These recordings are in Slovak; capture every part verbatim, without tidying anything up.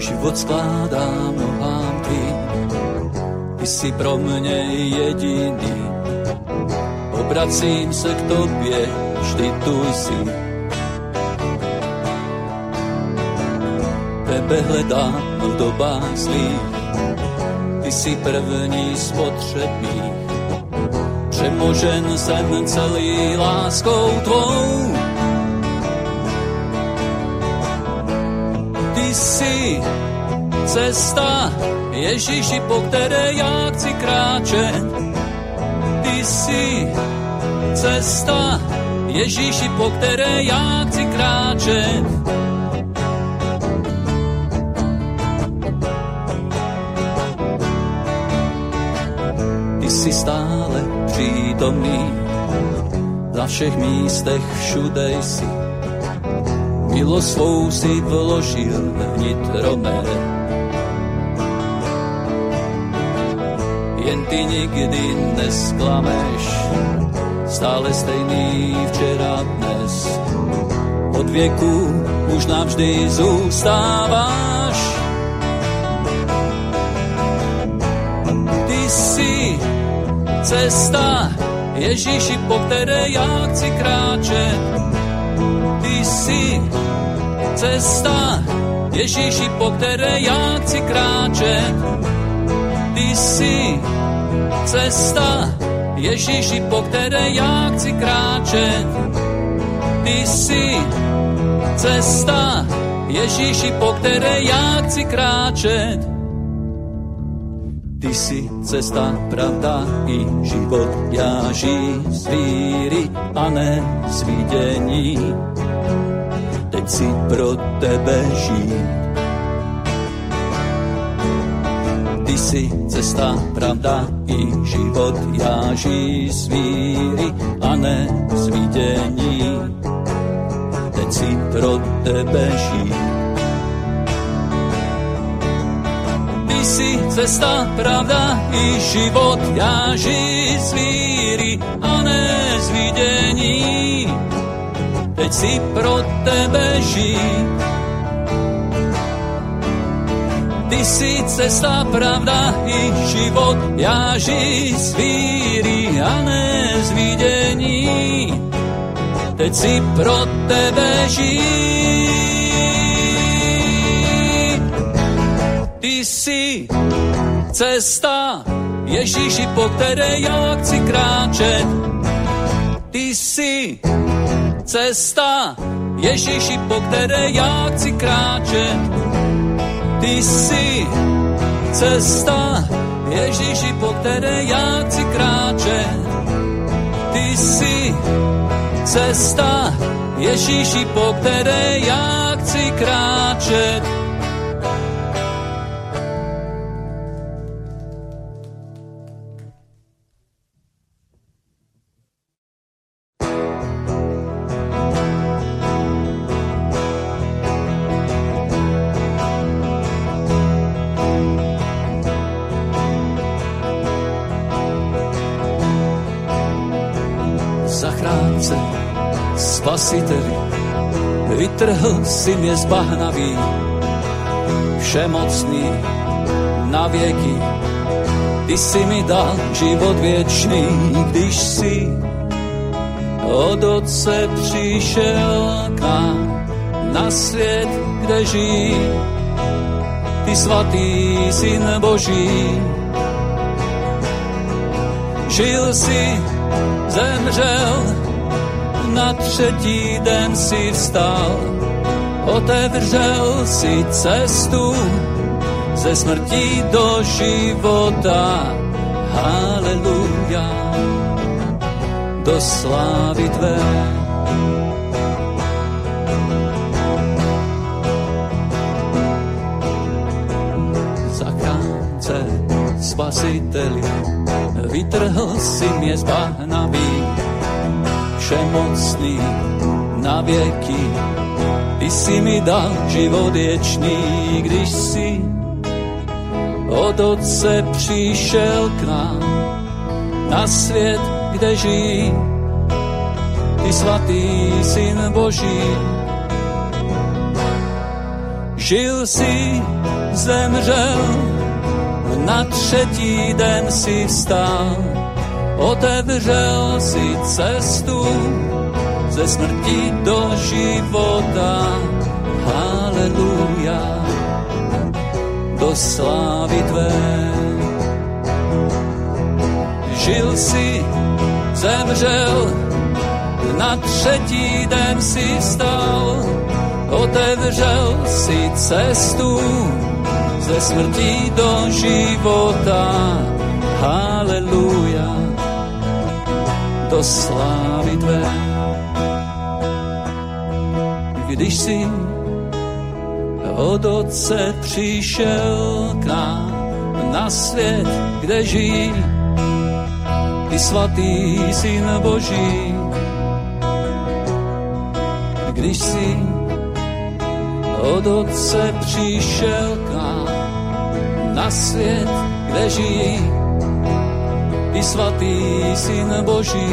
život skládám nohám tvým. Ty si pro mne jediný, obracím se k tobě, vždy tu jsi. Tebe hledám v dobách zlých, ty si první z potřebných. Přemožen jsem celý láskou tvou. Ty jsi cesta, Ježíši, po které já chci kráčet. Ty jsi cesta, Ježíši, po které já chci kráčet. Ty jsi stále přítomný, na všech místech všude jsi. Milost svou si vložil vnitro mé. Jen ty nikdy nesklameš, stále stejný včera dnes. Od věku už navždy zůstáváš. Ty jsi cesta, Ježíši, po které já chci kráčet. Ty jsi cesta, Ježíši, po které já chci kráčet. Ty jsi cesta, Ježíši, po které já chci kráčet. Ty jsi cesta, Ježíši, po které já chci kráčet. Ty jsi cesta, pravda i život, já žij z víry a ne z vidění. Teď si pro tebe žij. Ty jsi cesta, pravda i život, já žij z víry a ne z vidění. Teď si pro tebe žij. Ty jsi cesta, pravda i život, já žij z víry a ne z vidění. Teď si pro tebe žij. Ty jsi cesta, pravda i život, já žij z víry a ne z vidění. Teď si pro tebe žij. Ty jsi cesta, Ježíši, po které já chci kráčet. Ty jsi cesta, Ježíši, po které já chci kráčet. Ty jsi cesta, Ježíši, po které já chci kráčet. Ty jsi cesta, Ježíši, po které já chci kráčet. Spasiteli, vytrhl si mě z bahnaví, všemocný na věky. Ty si mi dal život věčný, když si od Otce přišel k nám na svět, kde žijí. Ty svatý Syn Boží, žil si, zemřel, na třetí den si vstal, otevřel si cestu ze smrti do života. Haleluja, do slávy tvé. Zachránce, spasiteli, vytrhl si mě z bahnaví, všemocný na věky. Ty jsi mi dal život věčný, když jsi od Otce přišel k nám na svět, kde žijí. Ty svatý Syn Boží, Žil si, zemřel, na třetí den si vstal, otevřel si cestu ze smrti do života. Haleluja, do slávy tvé. Žil si, zemřel, na třetí den si vstal, otevřel si cestu ze smrti do života. Haleluja, do slávy tvé. Když jsi od Otce přišel k nám na svět, kde žijí ty svatý Syn Boží. Když jsi od Otce přišel k nám na svět, kde žijí ty svatý Syn Boží.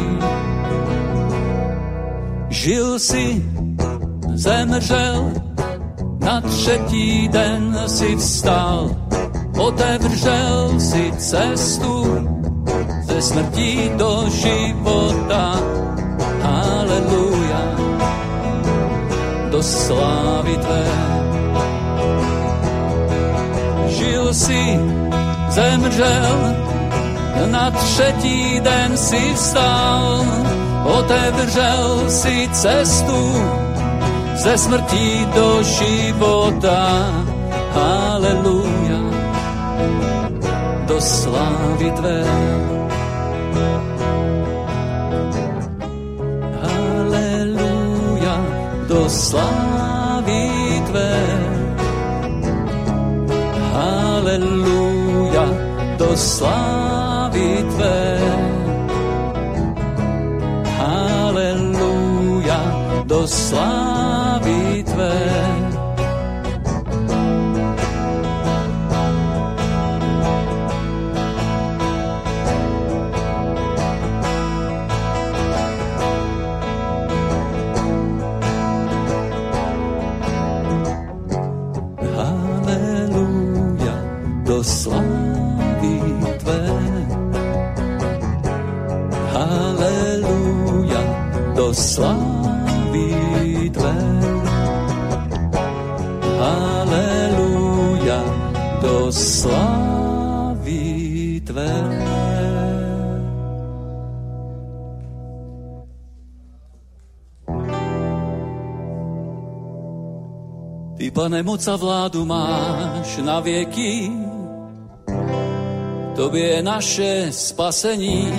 Žil si, zemřel, na třetí den si vstal, otevřel si cestu ze smrti do života. Haleluja, do slávy tvé. Žil si, zemřel, na třetí den si vstal, otevřel si cestu ze smrti do života. Haleluja, do slávy tvé. Haleluja, do slávy tvé. Haleluja, do slávy tvé. Haleluja, do slávy tvé. Haleluja, do slávy tvé. Haleluja, do slávy tvé. Haleluja, do slávy tvé. Ty, Pane, moc a vládu máš na věky, tobě je naše spasení.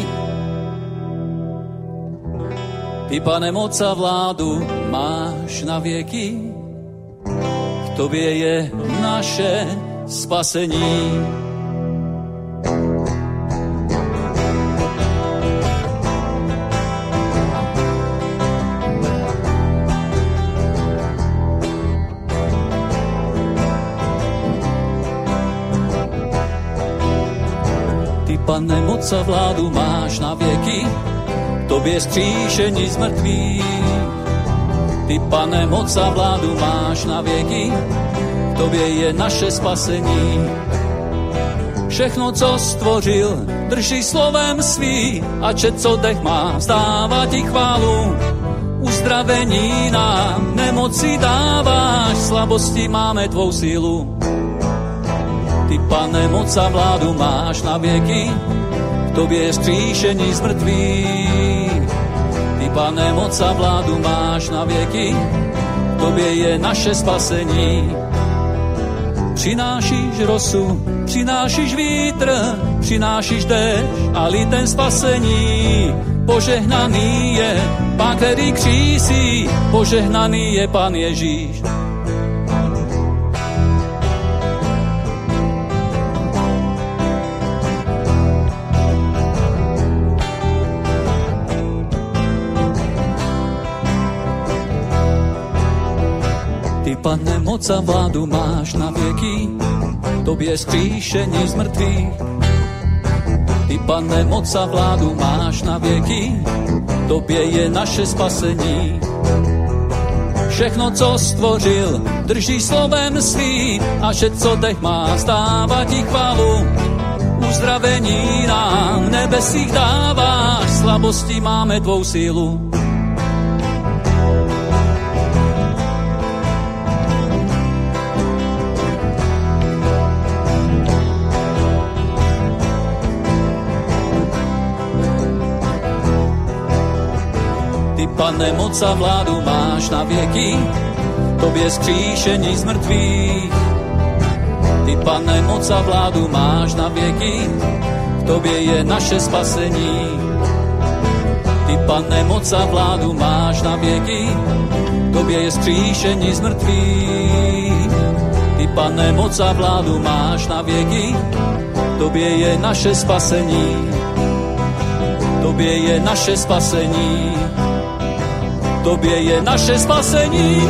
Ty, Pane, moc a vládu máš na věky, v tobě je naše spasení. Ty, Pane, moc a vládu máš na věky, tobě skříšení z mrtvých. Ty, Pane, moc a vládu máš na věky, v tobě je naše spasení. Všechno, co stvořil, drží slovem svý, a čet, co dech má, vzdává ti chválu. Uzdravení nám nemoci dáváš, slabosti máme tvou sílu. Ty, Pane, moc a vládu máš na věky, v tobě je skříšení z mrtvých. Ty, Pane, moc a vládu máš na věky, v tobě je naše spasení. Přinášíš rosu, přinášíš vítr, přinášíš déšť a litem spasení. Požehnaný je Pán, který křísí, požehnaný je Pán Ježíš. Ty, Pane, moc a vládu máš na věky, tobě skříšení z mrtvých. Ty, Pane, moc a vládu máš na věky, tobě je naše spasení. všechno, co stvořil, drží slovem svým a že co dech má, stává ti chválu. Uzdravení nám nebesích dáváš, slabosti máme tvou sílu. Ty, Pane, moc a vládu máš na věky, tobě skříšení z mrtvých. Ty, Pane, moc a vládu máš na věky, v tobě je naše spasení. Ty, Pane, moc a vládu máš na věky, v tobě je skříšení z mrtvých. Ty, Pane, moc a vládu máš na věky, v tobě je naše spasení. V tobě je naše spasení. V tobě je naše spasení.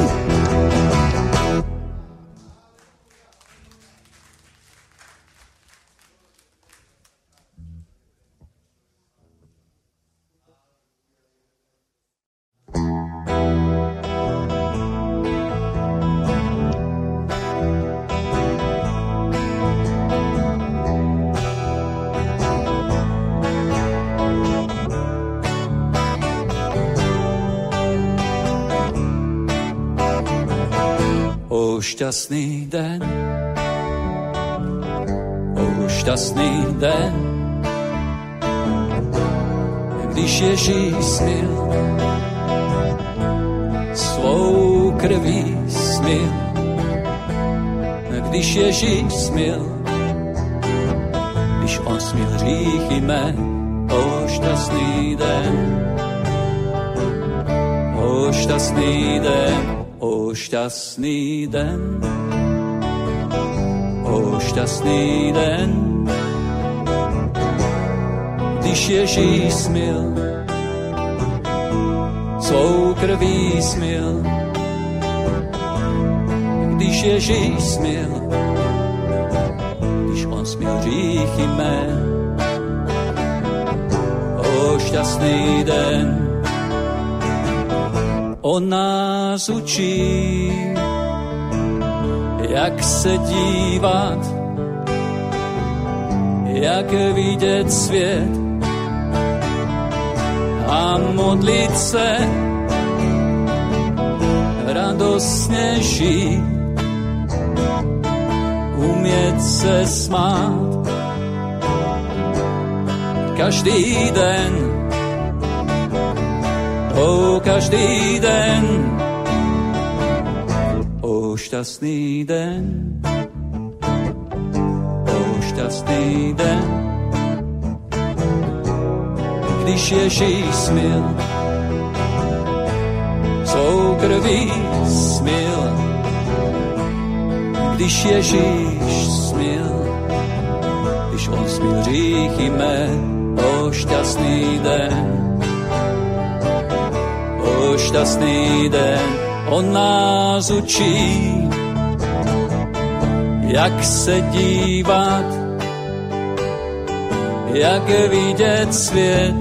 Šťastný den, o šťastný den, když Ježíš smil, svou krví smil, když Ježíš smil, když on smil hříchy mé, o šťastný den, o šťastný den. O šťastný den, o šťastný den, když Ježíš smil, svou krví smil, když Ježíš smil, když on smil hříchy mé, o šťastný den. On nás učí, jak se dívat, jak vidět svět a modlit se, radostně žít, umět se smát každý den. O každý den, o šťastný den, o šťastný den, když Ježíš smil, svou krví smil, když Ježíš smil, když on smil hříchy mé, o šťastný den. O šťastný den, on nás učí, jak se dívat, jak vidět svět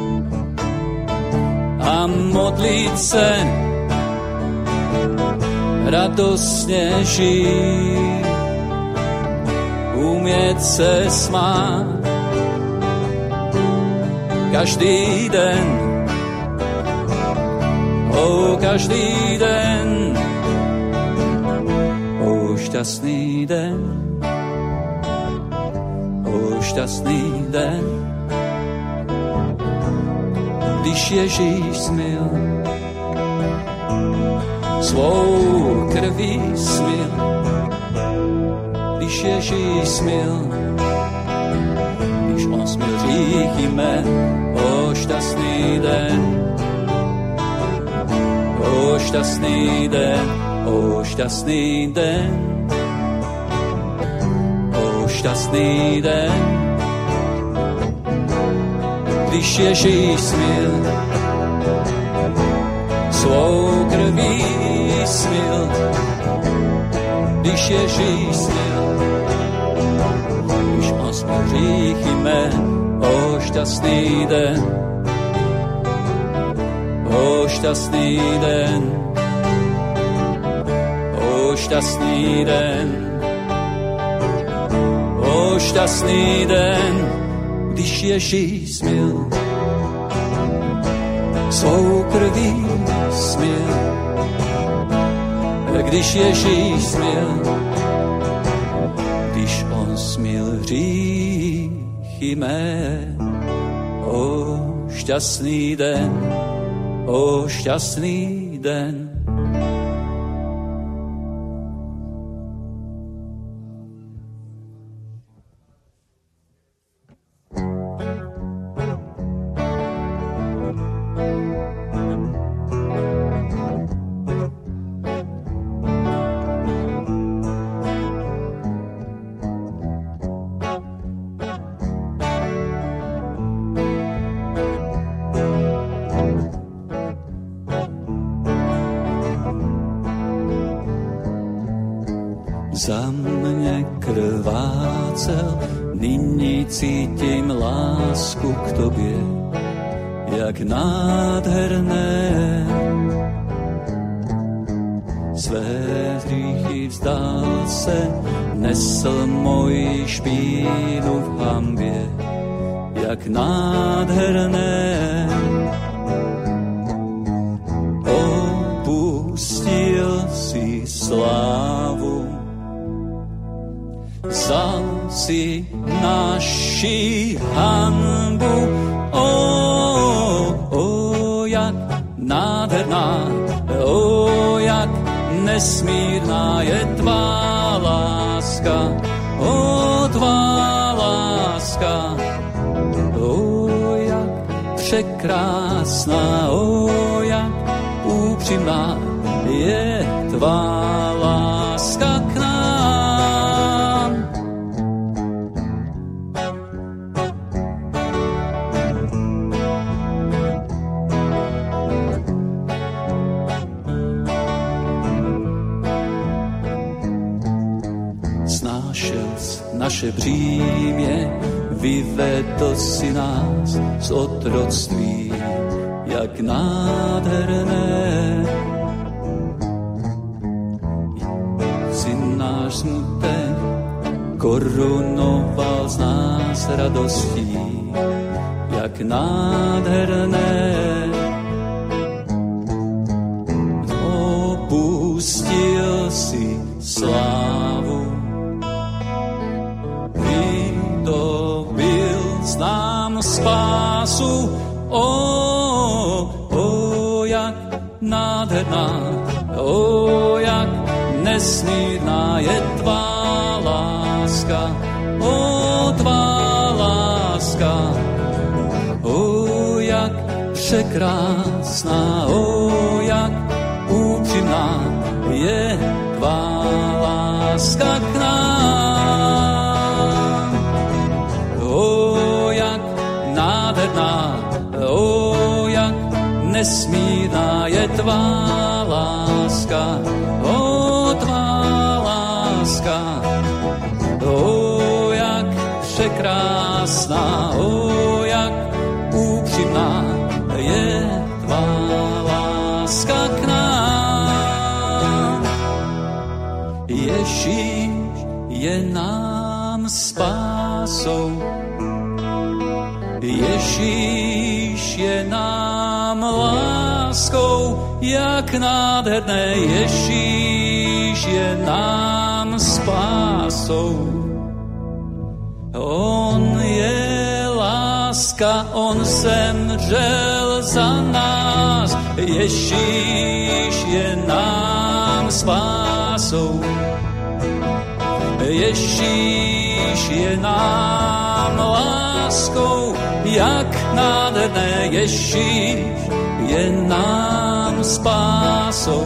a modlit se, radostně žít, umět se smát každý den. O každý den, o šťastný den, o šťastný den, když Ježíš smil, svou krví smil, když Ježíš smil, když on smil hříchy mé, o šťastný den. O šťastný den, o šťastný den, o šťastný den, když Ježíš smil, svou krví smil, když Ježíš smil, když on smil hříchy mé, o šťastný den. O šťastný den, šťastný den, o šťastný den, když Ježíš směl svou krví směl, když Ježíš směl, když on směl hříchy mé, o šťastný den, o šťastný den. Za mě krvácel, nyní cítím lásku k tobě, jak nádherné. Své hříchy vzdal se, nesl moji špínu v hambě, jak nádherné. Opustil si slávu, vzal si naši hanbu, o, o, jak nádherná, o, jak nesmírná je tvá láska, o, tvá láska, o, jak překrásná, o, jak upřímná je tvá láska k nám. Naše břímě, vyvedl si nás z otroctví, jak nádherné. Si náš smutek korunoval z nás radostí, jak nádherné. Opustil si slávu, znám spásu, o, o, jak nádherná, o, jak nesmírná je tvá láska, o, tvá láska, o, jak překrásná, o, jak upřímná je tvá láska k nám. O, jak nádherná, o, jak nesmírná je tvá láska, o, tvá láska, o, jak překrásná, o, jak upřímná je tvá láska k nám. Ježíš je nám spásou, Ježíš je nám láskou, jak nádherné, Ježíš je nám spásou. On je láska, on zemřel za nás, Ježíš je nám spásou. Ježíš je nám láskou, jak nádherné, Ježíš je nám spásou.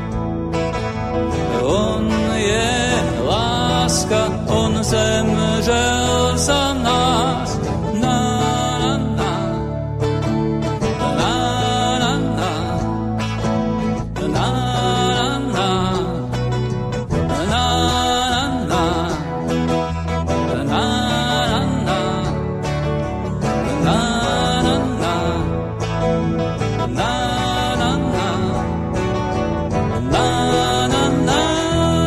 On je láska, on zemřel za nás. Na, na, na. Na, na, na. Na, na, na. Na,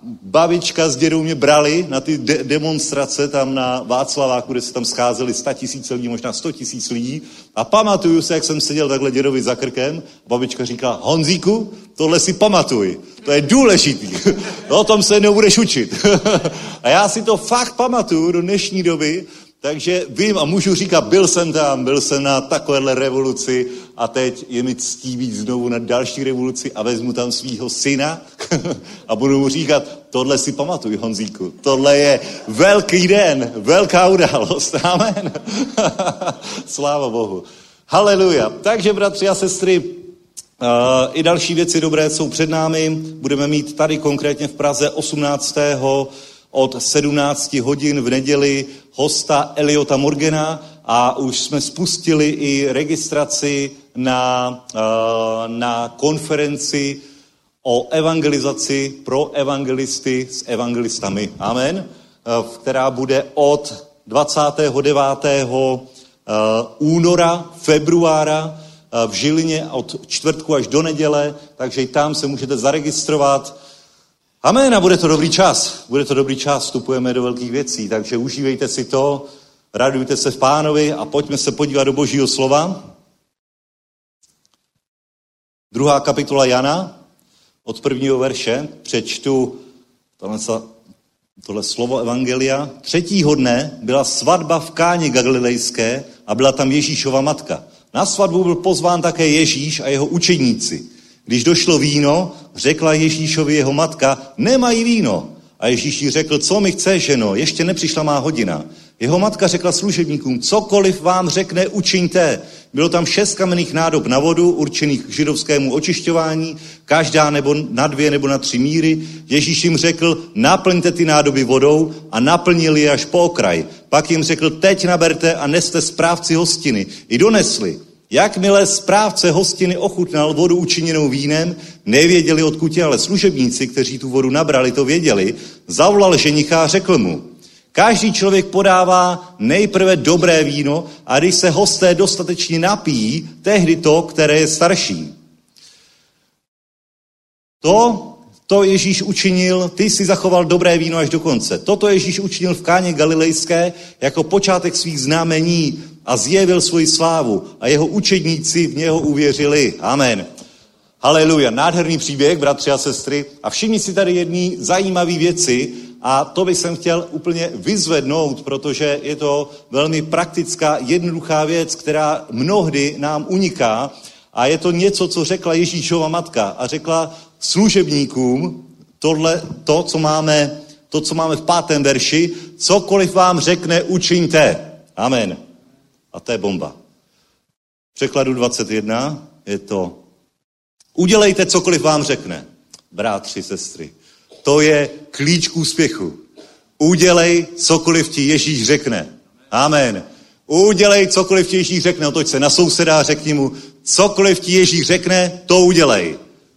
babička s dědou mě brali na ty de- demonstrace tam na Václaváku, kde se tam scházeli sta tisíce lidí, možná sto tisíc lidí. A pamatuju se, jak jsem seděl takhle dědovi za krkem. Babička říká, Honzíku, tohle si pamatuj. To je důležitý. O tom se jednou budeš učit. A já si to fakt pamatuju do dnešní doby, takže vím a můžu říkat, byl jsem tam, byl jsem na takovéhle revoluci a teď je mi ctí být znovu na další revoluci a vezmu tam svýho syna a budu mu říkat, tohle si pamatuj, Honzíku, tohle je velký den, velká událost, amen. Sláva Bohu. Haleluja. Takže, bratři a sestry, uh, i další věci dobré jsou před námi. Budeme mít tady konkrétně v Praze osmnáctého od sedmnácti hodin v neděli hosta Eliota Morgana a už jsme spustili i registraci na, uh, na konferenci o evangelizaci pro evangelisty s evangelistami. Amen. Uh, která bude od dvacátého devátého února, februára v Žilině od čtvrtku až do neděle, takže i tam se můžete zaregistrovat. Amen, a bude to dobrý čas. Bude to dobrý čas, vstupujeme do velkých věcí, takže užívejte si to, radujte se v Pánovi a pojďme se podívat do Božího slova. Druhá kapitola Jana, od prvního verše, přečtu tohle, tohle slovo evangelia. Třetího dne byla svatba v Káně Galilejské a byla tam Ježíšova matka. Na svatbu byl pozván také Ježíš a jeho učedníci. Když došlo víno, řekla Ježíšovi jeho matka, nemají víno. A Ježíš jí řekl, co mi chceš, ženo, ještě nepřišla má hodina. Jeho matka řekla služebníkům, cokoliv vám řekne, učiňte. Bylo tam šest kamenných nádob na vodu, určených k židovskému očišťování, každá nebo na dvě nebo na tři míry. Ježíš jim řekl, naplňte ty nádoby vodou a naplnili je až po okraj. Pak jim řekl, teď naberte a neste správci hostiny. I donesli. Jakmile správce hostiny ochutnal vodu učiněnou vínem, nevěděli odkud je, ale služebníci, kteří tu vodu nabrali, to věděli, zavolal ženicha a řekl mu, každý člověk podává nejprve dobré víno a když se hosté dostatečně napijí, tehdy to, které je starší. To, to Ježíš učinil, ty si zachoval dobré víno až do konce. Toto Ježíš učinil v Káně Galilejské jako počátek svých znamení a zjevil svoji slávu a jeho učedníci v něho uvěřili. Amen. Haleluja. Nádherný příběh, bratři a sestry. A všimni si tady jedné zajímavé věci a to bych jsem chtěl úplně vyzvednout, protože je to velmi praktická, jednoduchá věc, která mnohdy nám uniká a je to něco, co řekla Ježíšova matka a řekla služebníkům tohle, to, co máme, to, co máme v pátém verši, cokoliv vám řekne, učiňte. Amen. A to je bomba. V překladu dvacet jedna je to udělejte, cokoliv vám řekne. Bratři, sestry, to je klíč k úspěchu. Udělej, cokoliv ti Ježíš řekne. Amen. Udělej, cokoliv ti Ježíš řekne. Otoč se na souseda a řekni mu, cokoliv ti Ježíš řekne, to udělej.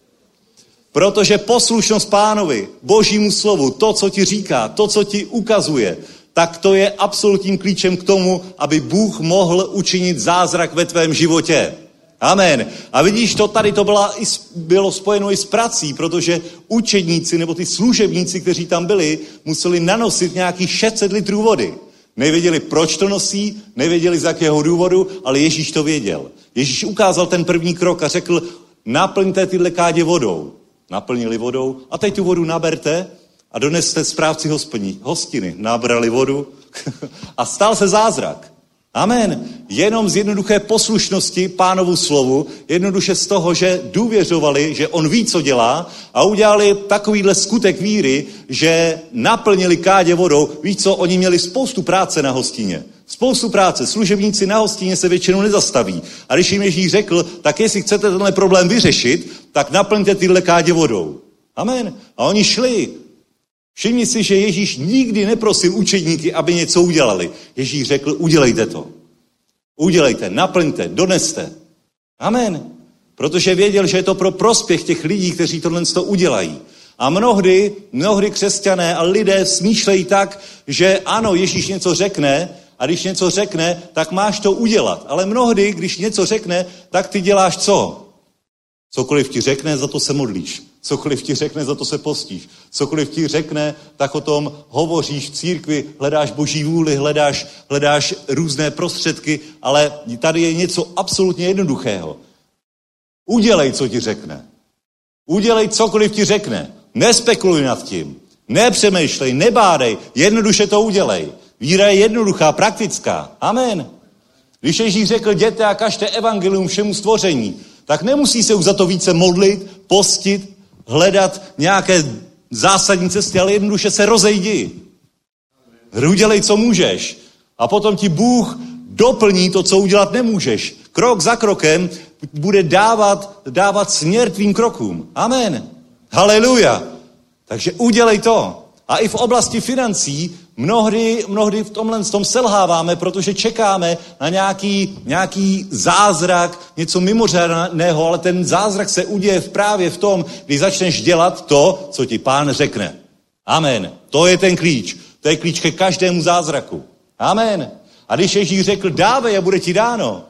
Protože poslušnost Pánovi, Božímu slovu, to, co ti říká, to, co ti ukazuje, tak to je absolutním klíčem k tomu, aby Bůh mohl učinit zázrak ve tvém životě. Amen. A vidíš, to tady to byla, bylo spojeno i s prací, protože učedníci nebo ty služebníci, kteří tam byli, museli nanosit nějakých šest set litrů vody. Nevěděli, proč to nosí, nevěděli, z jakého důvodu, ale Ježíš to věděl. Ježíš ukázal ten první krok a řekl, naplňte tyhle kádě vodou. Naplnili vodou a teď tu vodu naberte a doneste správci hospení, hostiny. Nabrali vodu a stal se zázrak. Amen. Jenom z jednoduché poslušnosti Pánovu slovu, jednoduše z toho, že důvěřovali, že on ví, co dělá a udělali takovýhle skutek víry, že naplnili kádě vodou. Víš co, oni měli spoustu práce na hostině. Spoustu práce. Služebníci na hostině se většinou nezastaví. A když jim Ježíš řekl, tak jestli chcete tenhle problém vyřešit, tak naplňte tyhle kádě vodou. Amen. A oni šli. Všimni si, že Ježíš nikdy neprosil učedníky, aby něco udělali. Ježíš řekl, udělejte to. Udělejte, naplňte, doneste. Amen. Protože věděl, že je to pro prospěch těch lidí, kteří tohle to udělají. A mnohdy, mnohdy křesťané a lidé smýšlejí tak, že ano, Ježíš něco řekne a když něco řekne, tak máš to udělat. Ale mnohdy, když něco řekne, tak ty děláš co? Cokoliv ti řekne, za to se modlíš. Cokoliv ti řekne, za to se postíš. Cokoliv ti řekne, tak o tom hovoříš v církvi, hledáš boží vůli, hledáš, hledáš různé prostředky, ale tady je něco absolutně jednoduchého. Udělej, co ti řekne. Udělej cokoliv ti řekne. Nespekuluj nad tím. Nepřemýšlej, nebádej, jednoduše to udělej. Víra je jednoduchá, praktická. Amen. Když Ježíš řekl, jděte a kažte evangelium všemu stvoření, tak nemusí se už za to více modlit, postit, hledat nějaké zásadní cesty, ale jednoduše se rozejdi. Udělej, co můžeš. A potom ti Bůh doplní to, co udělat nemůžeš. Krok za krokem bude dávat, dávat směr tvým krokům. Amen. Haleluja. Takže udělej to. A i v oblasti financí mnohdy, mnohdy v tomhle tom selháváme, protože čekáme na nějaký, nějaký zázrak, něco mimořádného, ale ten zázrak se uděje právě v tom, když začneš dělat to, co ti Pán řekne. Amen. To je ten klíč. To je klíč ke každému zázraku. Amen. A když Ježíš řekl, dávej a bude ti dáno.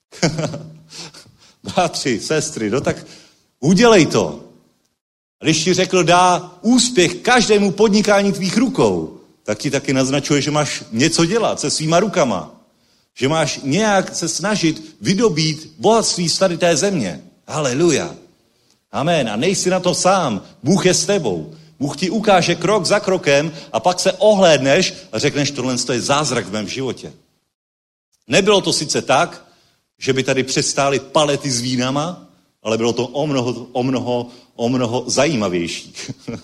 Bratři, sestry, no tak udělej to. A když ti řekl, dá úspěch každému podnikání tvých rukou, tak ti taky naznačuje, že máš něco dělat se svýma rukama. Že máš nějak se snažit vydobít bohatství z tady té země. Haleluja. Amen. A nejsi na to sám. Bůh je s tebou. Bůh ti ukáže krok za krokem a pak se ohlédneš a řekneš, tohle je zázrak v mém životě. Nebylo to sice tak, že by tady přestály palety s vínama, ale bylo to o mnoho, o mnoho, o mnoho zajímavější.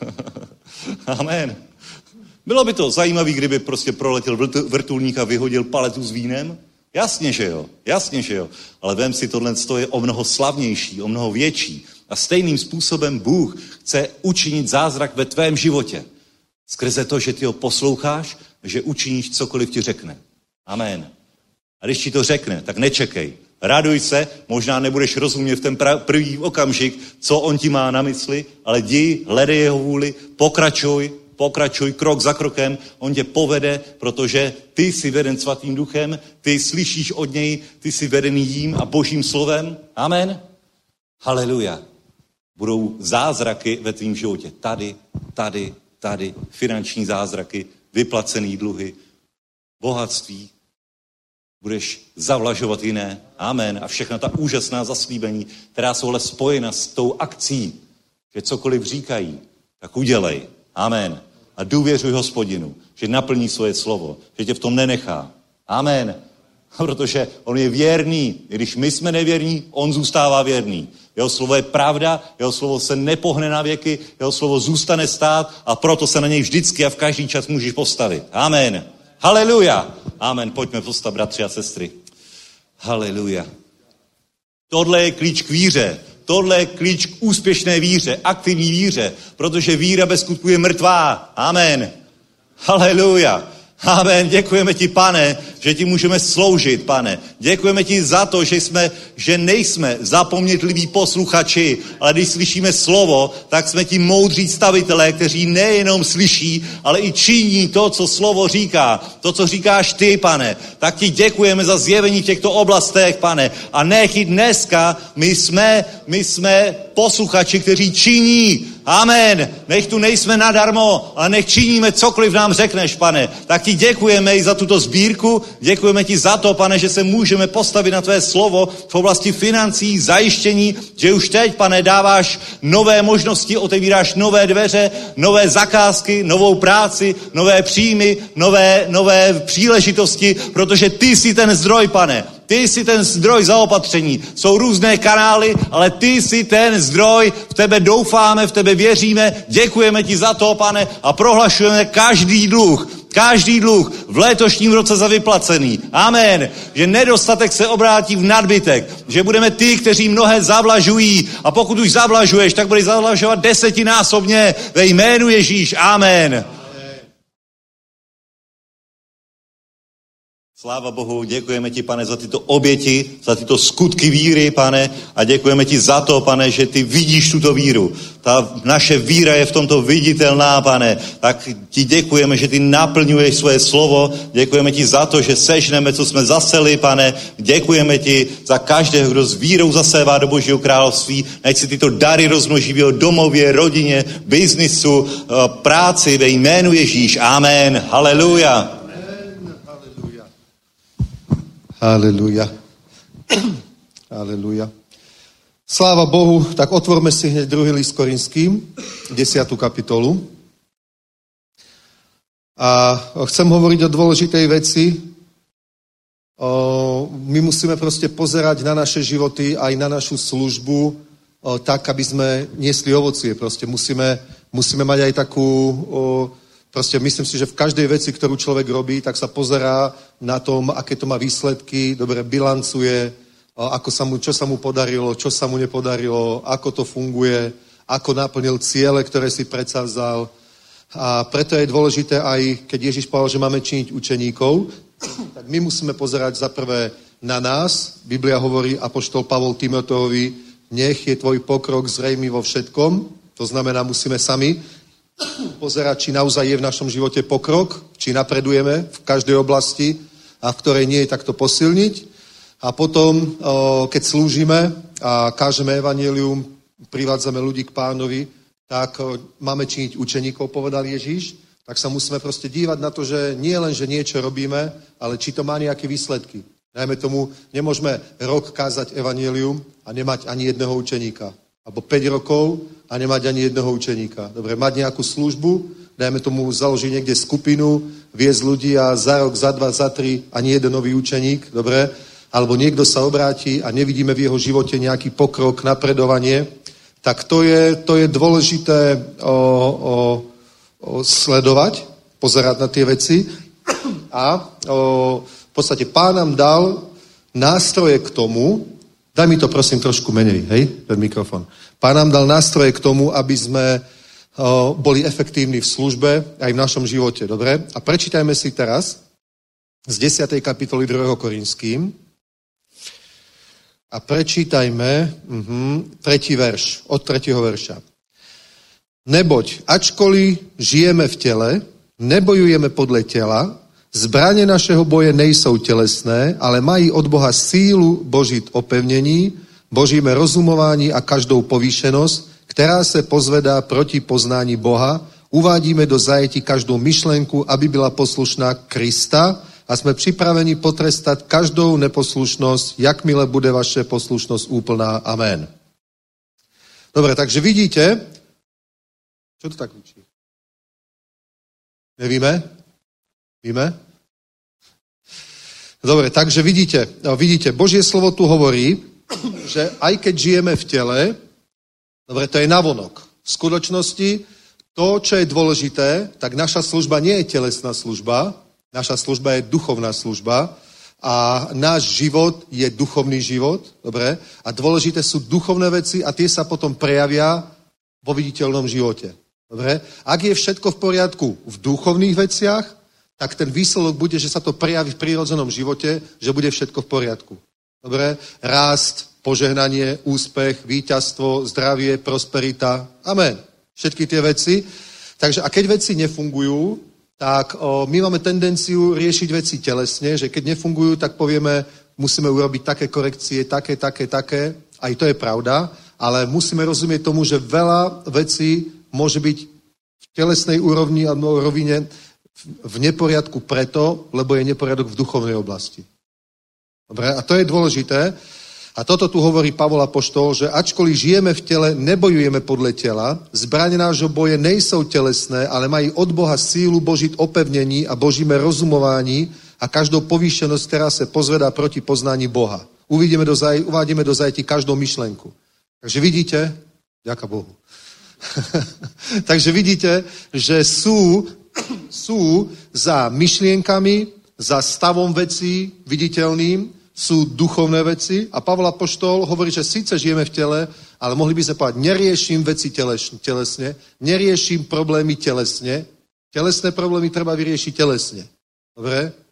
Amen. Bylo by to zajímavé, kdyby prostě proletěl vrtulník a vyhodil paletu s vínem? Jasně, že jo. Jasně, že jo. Ale vem si, tohle je o mnoho slavnější, o mnoho větší. A stejným způsobem Bůh chce učinit zázrak ve tvém životě. Skrze to, že ty ho posloucháš, že učiníš cokoliv ti řekne. Amen. A když ti to řekne, tak nečekej. Raduj se, možná nebudeš rozumět v ten první okamžik, co on ti má na mysli, ale jdi, hledej jeho vůli, pokračuj, pokračuj krok za krokem, on tě povede, protože ty jsi veden svatým duchem, ty slyšíš od něj, ty jsi vedený jím a božím slovem. Amen. Haleluja. Budou zázraky ve tvým životě. Tady, tady, tady, finanční zázraky, vyplacený dluhy, bohatství. Budeš zavlažovat jiné. Amen. A všechna ta úžasná zaslíbení, která jsou ale spojena s tou akcí, že cokoliv říkají, tak udělej. Amen. A důvěřuj Hospodinu, že naplní svoje slovo, že tě v tom nenechá. Amen. Protože on je věrný. I když my jsme nevěrní, on zůstává věrný. Jeho slovo je pravda, jeho slovo se nepohne na věky, jeho slovo zůstane stát a proto se na něj vždycky a v každý čas můžeš postavit. Amen. Haleluja. Amen. Pojďme postavit, bratři a sestry. Haleluja. Tohle je klíč k víře. Tohle je klíč k úspěšné víře, aktivní víře, protože víra bez skutku je mrtvá. Amen. Haleluja. Amen. Děkujeme ti, Pane, že ti můžeme sloužit, Pane. Děkujeme ti za to, že jsme, že nejsme zapomnětliví posluchači, ale když slyšíme slovo, tak jsme ti moudří stavitelé, kteří nejenom slyší, ale i činí to, co slovo říká. To, co říkáš ty, Pane. Tak ti děkujeme za zjevení v těchto oblastech, Pane. A nech i dneska my jsme, my jsme posluchači, kteří činí. Amen. Nech tu nejsme nadarmo, ale nech činíme cokoliv nám řekneš, Pane. Tak ti děkujeme i za tuto sbírku. Děkujeme ti za to, Pane, že se můžeme postavit na tvé slovo v oblasti financí, zajištění, že už teď, Pane, dáváš nové možnosti, otevíráš nové dveře, nové zakázky, novou práci, nové příjmy, nové, nové příležitosti, protože ty jsi ten zdroj, Pane. Ty jsi ten zdroj zaopatření. Jsou různé kanály, ale ty jsi ten zdroj, v tebe doufáme, v tebe věříme, děkujeme ti za to, Pane, a prohlašujeme každý dluh, každý dluh v letošním roce za vyplacený. Amen. Že nedostatek se obrátí v nadbytek, že budeme ty, kteří mnohé zavlažují a pokud už zavlažuješ, tak budeš zavlažovat desetinásobně ve jménu Ježíš. Amen. Sláva Bohu, děkujeme ti, pane, za tyto oběti, za tyto skutky víry, pane, a děkujeme ti za to, pane, že ty vidíš tuto víru. Ta naše víra je v tomto viditelná, pane, tak ti děkujeme, že ty naplňuješ svoje slovo, děkujeme ti za to, že sežneme, co jsme zaseli, pane, děkujeme ti za každého, kdo s vírou zasévá do Božího království, nech si tyto dary rozmnoží v jeho domově, rodině, biznisu, práci, ve jménu Ježíš, amen, haleluja. Haleluja. Haleluja. Sláva Bohu, tak otvorme si hneď druhý list Korinským, desiatu kapitolu. A chcem hovoriť o dôležitej veci. O, my musíme proste pozerať na naše životy, aj na našu službu, o, tak, aby sme niesli ovocie. Proste musíme, musíme mať aj takú... O, Proste myslím si, že v každej veci, ktorú človek robí, tak sa pozerá na tom, aké to má výsledky, dobre bilancuje, ako sa mu, čo sa mu podarilo, čo sa mu nepodarilo, ako to funguje, ako naplnil ciele, ktoré si predsavzal. A preto je dôležité aj, keď Ježiš povedal, že máme činiť učeníkov, tak my musíme pozerať za prvé na nás. Biblia hovorí, apoštol Pavol Timoteovi, nech je tvoj pokrok zrejmý vo všetkom. To znamená, musíme sami pozerať, či naozaj je v našom živote pokrok, či napredujeme v každej oblasti a v ktorej nie je, tak to posilniť. A potom, keď slúžime a kážeme evanjelium, privádzame ľudí k pánovi, tak máme činiť učeníkov, povedal Ježíš, tak sa musíme proste dívať na to, že nie len, že niečo robíme, ale či to má nejaké výsledky. Dajme tomu, nemôžeme rok kázať evanjelium a nemať ani jedného učeníka. Alebo päť rokov a nemať ani jedného učeníka. Dobre, mať nejakú službu, dajme tomu založiť niekde skupinu, viesť ľudí a za rok, za dva, za tri ani jeden nový učeník, dobre? Alebo niekto sa obráti a nevidíme v jeho živote nejaký pokrok, napredovanie, tak to je, to je dôležité o, o, o sledovať, pozerať na tie veci a o, v podstate Pán nám dal nástroje k tomu. Daj mi to prosím trošku menej, hej, ten mikrofon. Pán nám dal nástroje k tomu, aby sme o, boli efektívni v službe aj v našom živote, dobre? A prečítajme si teraz z desiatej kapitoly druhého Korinským a prečítajme uh-huh, tretí verš, od tretieho verša. Neboť, ačkoliv žijeme v tele, nebojujeme podle tela, zbraně našeho boje nejsou tělesné, ale mají od Boha sílu božit opevnění, božíme rozumování a každou povýšenost, která se pozvedá proti poznání Boha. Uvádíme do zajetí každou myšlenku, aby byla poslušná Krista a jsme připraveni potrestat každou neposlušnost, jakmile bude vaše poslušnost úplná. Amen. Dobre, takže vidíte, čo to tak učí? Nevíme? Víme? Dobre, takže vidíte, vidíte, Božie slovo tu hovorí, že aj keď žijeme v tele, dobre, to je navonok. V skutočnosti to, čo je dôležité, tak naša služba nie je telesná služba, naša služba je duchovná služba a náš život je duchovný život, dobre, a dôležité sú duchovné veci a tie sa potom prejavia vo viditeľnom živote. Dobre? Ak je všetko v poriadku v duchovných veciach, tak ten výsledok bude, že sa to prejaví v prírodzenom živote, že bude všetko v poriadku. Dobre? Rást, požehnanie, úspech, víťazstvo, zdravie, prosperita. Amen. Všetky tie veci. Takže a keď veci nefungujú, tak o, my máme tendenciu riešiť veci telesne, že keď nefungujú, tak povieme, musíme urobiť také korekcie, také, také, také. Aj to je pravda, ale musíme rozumieť tomu, že veľa vecí môže byť v telesnej úrovni a rovine v neporiadku preto, lebo je neporiadok v duchovnej oblasti. Dobre? A to je dôležité. A toto tu hovorí Pavol apoštol, že ačkoliv žijeme v tele, nebojujeme podle tela, zbraně nášho boje nejsou tělesné, ale mají od Boha sílu božit opevnění a božíme rozumování a každou povýšenost, která se pozvedá proti poznání Boha. Uvidíme do zaj- uvádíme do zajetí každou myšlenku. Takže vidíte, ďaká Bohu. Takže vidíte, že sú, sú za myšlienkami, za stavom vecí viditeľným, sú duchovné veci a Pavol apoštol hovorí, že síce žijeme v tele, ale mohli by sme povedať, neriešim veci telesne, neriešim problémy telesne. Telesné problémy treba vyriešiť telesne. Dobre?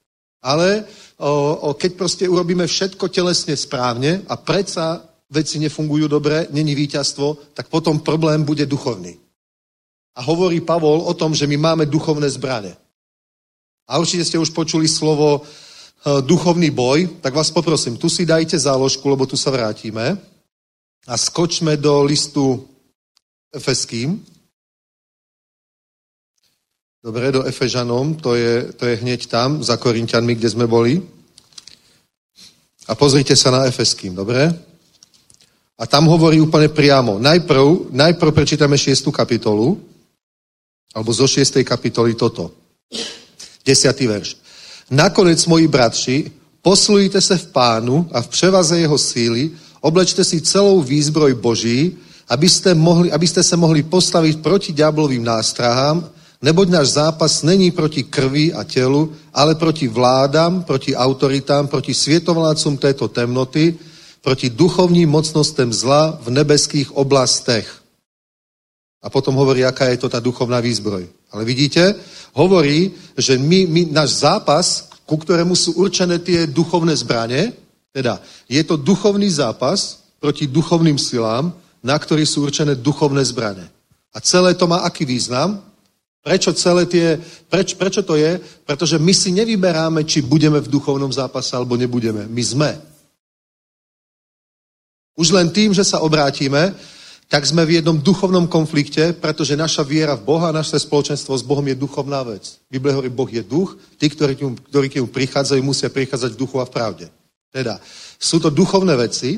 Ale o, o, keď proste urobíme všetko telesne správne a predsa veci nefungujú dobre, není víťazstvo, tak potom problém bude duchovný. A hovorí Pavol o tom, že my máme duchovné zbrane. A určite ste už počuli slovo e, duchovný boj, tak vás poprosím, tu si dajte záložku, lebo tu sa vrátime a skočme do listu Efeským. Dobre, do Efežanom, to je, to je hneď tam, za Korinťanmi, kde sme boli. A pozrite sa na Efeským, dobre? A tam hovorí úplne priamo. Najprv, najprv prečítame šiestú kapitolu, alebo zo šiestej kapitoly toto. Desiatý verš. Nakonec, moji bratši, posilujte sa v Pánu a v převaze jeho síly, oblečte si celou výzbroj Boží, aby ste, mohli, aby ste sa mohli postaviť proti ďáblovým nástrahám, neboť náš zápas není proti krvi a telu, ale proti vládám, proti autoritám, proti svietovládcom této temnoty, proti duchovním mocnostem zla v nebeských oblastech. A potom hovorí, aká je to tá duchovná výzbroj. Ale vidíte, hovorí, že my, my, náš zápas, ku ktorému sú určené tie duchovné zbrane, teda je to duchovný zápas proti duchovným silám, na ktorý sú určené duchovné zbrane. A celé to má aký význam? Prečo celé tie, preč, prečo to je? Pretože my si nevyberáme, či budeme v duchovnom zápase, alebo nebudeme. My sme. Už len tým, že sa obrátime, tak sme v jednom duchovnom konflikte, pretože naša viera v Boha, naše spoločenstvo s Bohom je duchovná vec. Biblia hovorí, Boh je duch, tí, ktorí k ňu, ktorí k ňu prichádzajú, musia prichádzať v duchu a v pravde. Teda, sú to duchovné veci,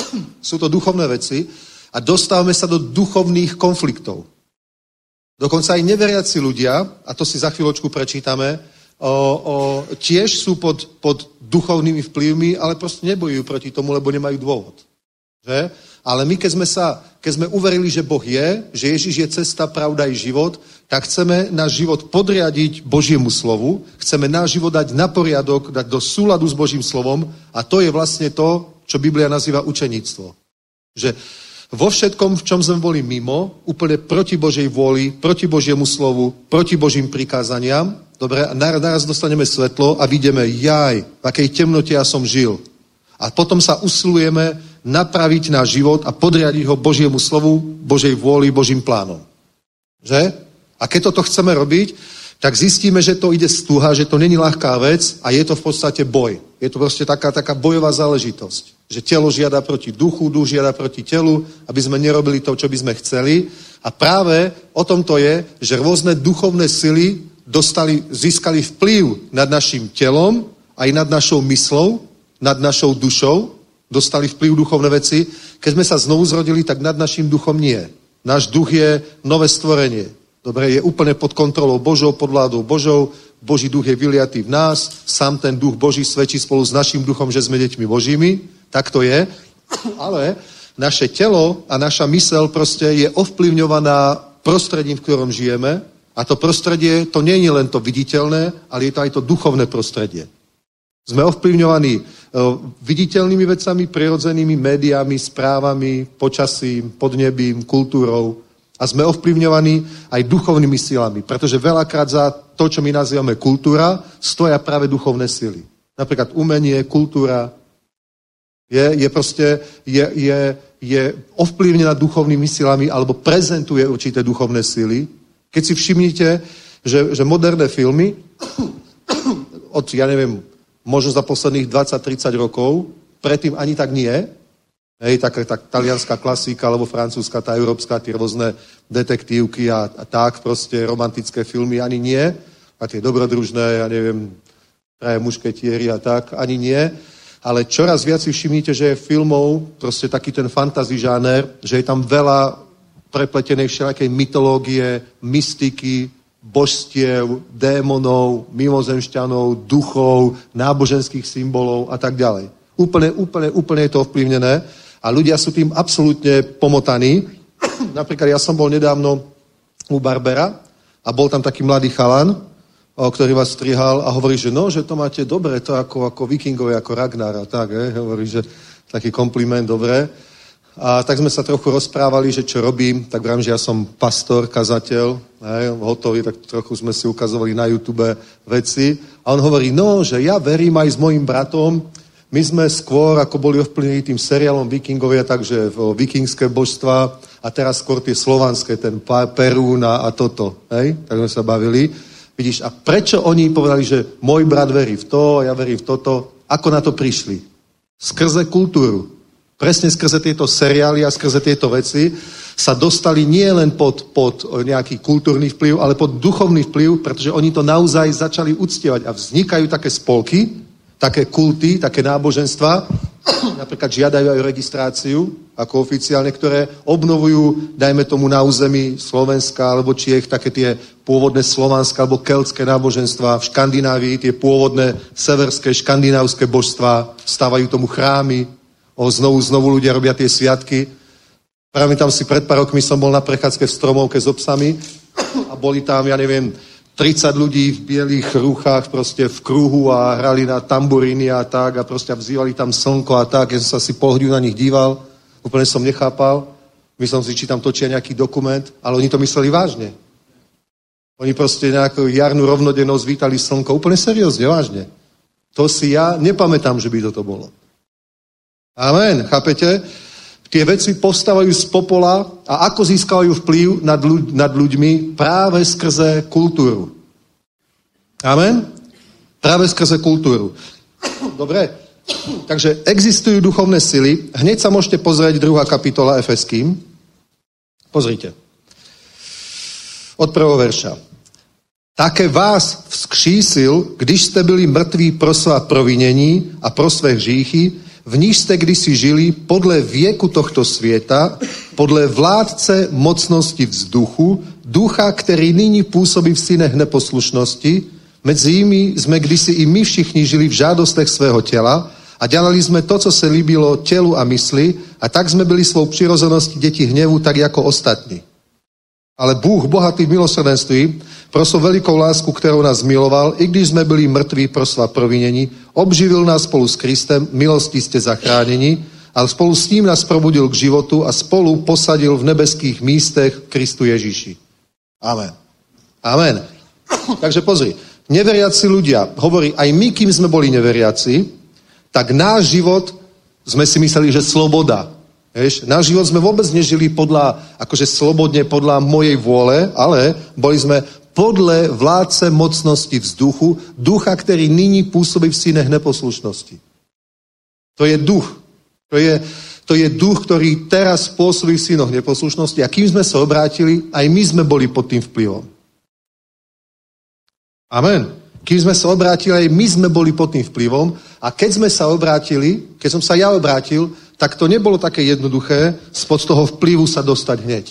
sú to duchovné veci a dostávame sa do duchovných konfliktov. Dokonca aj neveriaci ľudia, a to si za chvíľočku prečítame, o, o, tiež sú pod, pod duchovnými vplyvmi, ale proste nebojujú proti tomu, lebo nemajú dôvod. Že? Ale my, keď sme, sa, keď sme uverili, že Boh je, že Ježiš je cesta, pravda i život, tak chceme náš život podriadiť Božiemu slovu, chceme náš život dať na poriadok, dať do súladu s Božím slovom a to je vlastne to, čo Biblia nazýva učeníctvo. Že vo všetkom, v čom sme boli mimo, úplne proti Božej vôli, proti Božiemu slovu, proti Božím prikázaniam, dobre, a naraz dostaneme svetlo a vidíme, jaj, v akej temnote ja som žil. A potom sa usilujeme napraviť náš život a podriadiť ho Božiemu slovu, Božej vôli, Božím plánom. Že? A keď toto chceme robiť, tak zistíme, že to ide z tuha, že to není ľahká vec a je to v podstate boj. Je to proste taká, taká bojová záležitosť. Že telo žiada proti duchu, duch žiada proti telu, aby sme nerobili to, čo by sme chceli. A práve o tom to je, že rôzne duchovné sily dostali, získali vplyv nad našim telom, aj nad našou myslou, nad našou dušou, dostali vplyv duchovné veci. Keď sme sa znovu zrodili, tak nad našim duchom nie. Náš duch je nové stvorenie. Dobre, je úplne pod kontrolou Božou, pod vládou Božou. Boží duch je vyliatý v nás. Sám ten duch Boží svedčí spolu s naším duchom, že sme deťmi Božími. Tak to je. Ale naše telo a naša mysel proste je ovplyvňovaná prostredím, v ktorom žijeme. A to prostredie, to nie je len to viditeľné, ale je to aj to duchovné prostredie. Sme ovplyvňovaní viditeľnými vecami, prirodzenými médiami, správami, počasím, podnebím, kultúrou a sme ovplyvňovaní aj duchovnými silami, pretože veľakrát za to, čo my nazývame kultúra, stoja práve duchovné sily. Napríklad umenie, kultúra je, je proste je, je, je ovplyvnená duchovnými silami alebo prezentuje určité duchovné sily. Keď si všimnite, že, že moderné filmy od, ja neviem, možno za posledných dvadsať tridsať rokov, predtým ani tak nie. Hej, tak, tak talianská klasika, alebo francúzska, tá európska, tie rôzne detektívky a, a tak, proste romantické filmy, ani nie. A tie dobrodružné, ja neviem, traje mušketieri a tak, ani nie. Ale čoraz viac si všimnite, že je filmov, proste taký ten fantasy žáner, že je tam veľa prepletenej všelakej mytológie, mystiky, božstiev, démonov, mimozemšťanov, duchov, náboženských symbolov a tak ďalej. Úplne, úplne, úplne je to ovplyvnené a ľudia sú tým absolútne pomotaní. Napríklad ja som bol nedávno u barbera a bol tam taký mladý chalan, ktorý vás strihal a hovorí, že no, že to máte dobre, to ako, ako vikingové, ako Ragnar a tak, eh? Hovorí, že taký kompliment, dobre. A tak sme sa trochu rozprávali, že čo robím, tak vrám, že ja som pastor, kazateľ, hej, hotový, tak trochu sme si ukazovali na YouTube veci A on hovorí, no, že ja verím aj s mojím bratom, my sme skôr, ako boli ovplyvnení tým seriálom Vikingovia, takže vikingské božstva a teraz skôr tie slovanské, ten Perún a, a toto, hej? Tak sme sa bavili. Vidíš, a prečo oni povedali, že môj brat verí v to, ja verím v toto? Ako na to prišli? Skrze kultúru. Presne skrze tieto seriály a skrze tieto veci sa dostali nie len pod, pod nejaký kultúrny vplyv, ale pod duchovný vplyv, pretože oni to naozaj začali uctievať a vznikajú také spolky, také kulty, také náboženstva, napríklad žiadajú aj registráciu ako oficiálne, ktoré obnovujú, dajme tomu na území Slovenska alebo Čiech, také tie pôvodné slovanské alebo keltské náboženstva, v Škandinávii tie pôvodné severské škandinávské božstvá, stávajú tomu chrámy, o, znovu, znovu ľudia robia tie sviatky. Práve tam si pred pár rokmi som bol na prechádzke v Stromovke s obsami a boli tam, ja neviem, tridsať ľudí v bielých rúchách proste v kruhu a hrali na tamburíny a tak a proste vzývali tam slnko a tak. Ja som sa asi pol hodinu na nich díval, úplne som nechápal. Myslel si, či tam točia nejaký dokument, ale oni to mysleli vážne. Oni proste nejakú jarnú rovnodennosť vítali slnko, úplne seriózne, vážne. To si ja nepamätám, že by toto bolo. Amen, chápete? Tie veci postávajú z popola a ako získavajú vplyv nad, ľuď, nad ľuďmi práve skrze kultúru. Amen? Práve skrze kultúru. Dobre? Takže existujú duchovné sily. Hneď sa môžete pozrieť druhá kapitola Efeským. Pozrite. Od prvého verša. Také vás vzkřísil, když jste byli mrtví pro svá provinění a pro své hříchy, v níž jste kdysi žili podle věku tohto světa, podle vládce mocnosti vzduchu, ducha, který nyní působí v synech neposlušnosti, mezi nimi jsme kdysi i my všichni žili v žádostech svého těla a dělali jsme to, co se líbilo tělu a mysli, a tak jsme byli svou přirozeností děti hněvu, tak jako ostatní. Ale Bůh, bohatý v milosrdenství, pro svou velikou lásku, kterou nás miloval, i když jsme byli mrtví pro svá provinění, obživil nás spolu s Kristem, milostí jste zachráněni, ale spolu s ním nás probudil k životu a spolu posadil v nebeských místech Kristu Ježíši. Amen. Amen. Takže pozri, neveriaci ľudia, hovorí, aj my, kým sme boli neveriaci, tak náš život, sme si mysleli, že sloboda. Vieš, náš život sme vôbec nežili podľa, akože slobodne podľa mojej vôle, ale boli sme podle vládce mocnosti vzduchu, ducha, ktorý nyní pôsobí v synech neposlušnosti. To je duch. To je, to je duch, ktorý teraz pôsobí v synoch neposlušnosti. A kým sme sa obrátili, aj my sme boli pod tým vplyvom. Amen. Kým sme sa obrátili, aj my sme boli pod tým vplyvom. A keď sme sa obrátili, keď som sa ja obrátil, tak to nebolo také jednoduché spod toho vplyvu sa dostať hneď.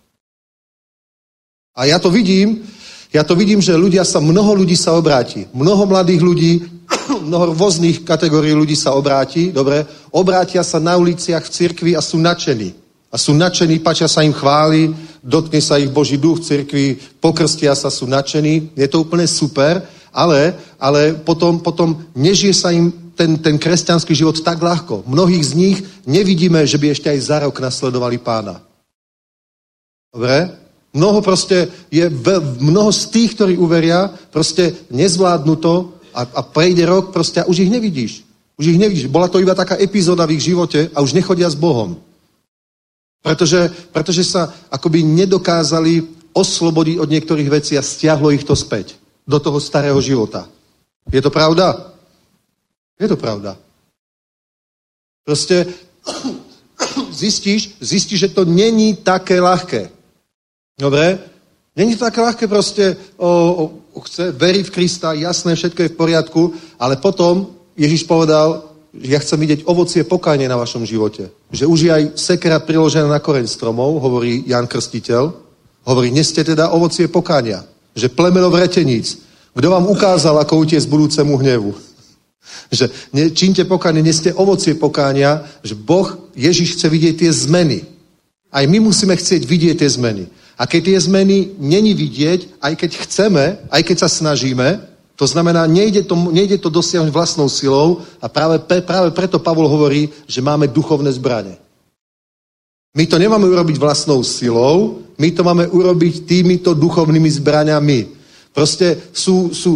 A ja to vidím, ja to vidím, že ľudia sa, mnoho ľudí sa obráti. Mnoho mladých ľudí, mnoho rôznych kategórií ľudí sa obráti, dobre, obrátia sa na uliciach v cirkvi a sú nadšení. A sú nadšení, páčia sa im chváli, dotkne sa ich Boží duch v cirkvi, pokrstia sa, sú nadšení. Je to úplne super, ale, ale potom, potom nežije sa im ten, ten kresťanský život tak ľahko. Mnohých z nich nevidíme, že by ešte aj za rok nasledovali Pána. Dobre? Mnoho proste je, mnoho z tých, ktorí uveria, proste nezvládnu to a, a prejde rok proste a už ich nevidíš. Už ich nevidíš. Bola to iba taká epizóda v ich živote a už nechodia s Bohom. Pretože, pretože sa akoby nedokázali oslobodiť od niektorých vecí a stiahlo ich to späť do toho starého života. Je to pravda? Je to pravda. Proste zistíš, zistíš, že to není také ľahké. Dobre? Není to také ľahké proste o, o, chce veriť v Krista, jasné, všetko je v poriadku, ale potom Ježiš povedal, že ja chcem vidieť ovocie pokánie na vašom živote. Že už je aj sekera priložená na koreň stromov, hovorí Ján Krstiteľ, hovorí, neste teda ovocie pokánia, že plemeno vreteníc. Kto vám ukázal, ako utiec budúcemu hnevu? Že ne, čínte pokánie, neste ovocie pokánia, že Boh, Ježiš chce vidieť tie zmeny. Aj my musíme chcieť vidieť tie zmeny. A keď tie zmeny není vidieť, aj keď chceme, aj keď sa snažíme, to znamená, nejde to, nejde to dosiahnuť vlastnou silou a práve, práve preto Pavol hovorí, že máme duchovné zbrane. My to nemáme urobiť vlastnou silou, my to máme urobiť týmito duchovnými zbraňami. Proste sú, sú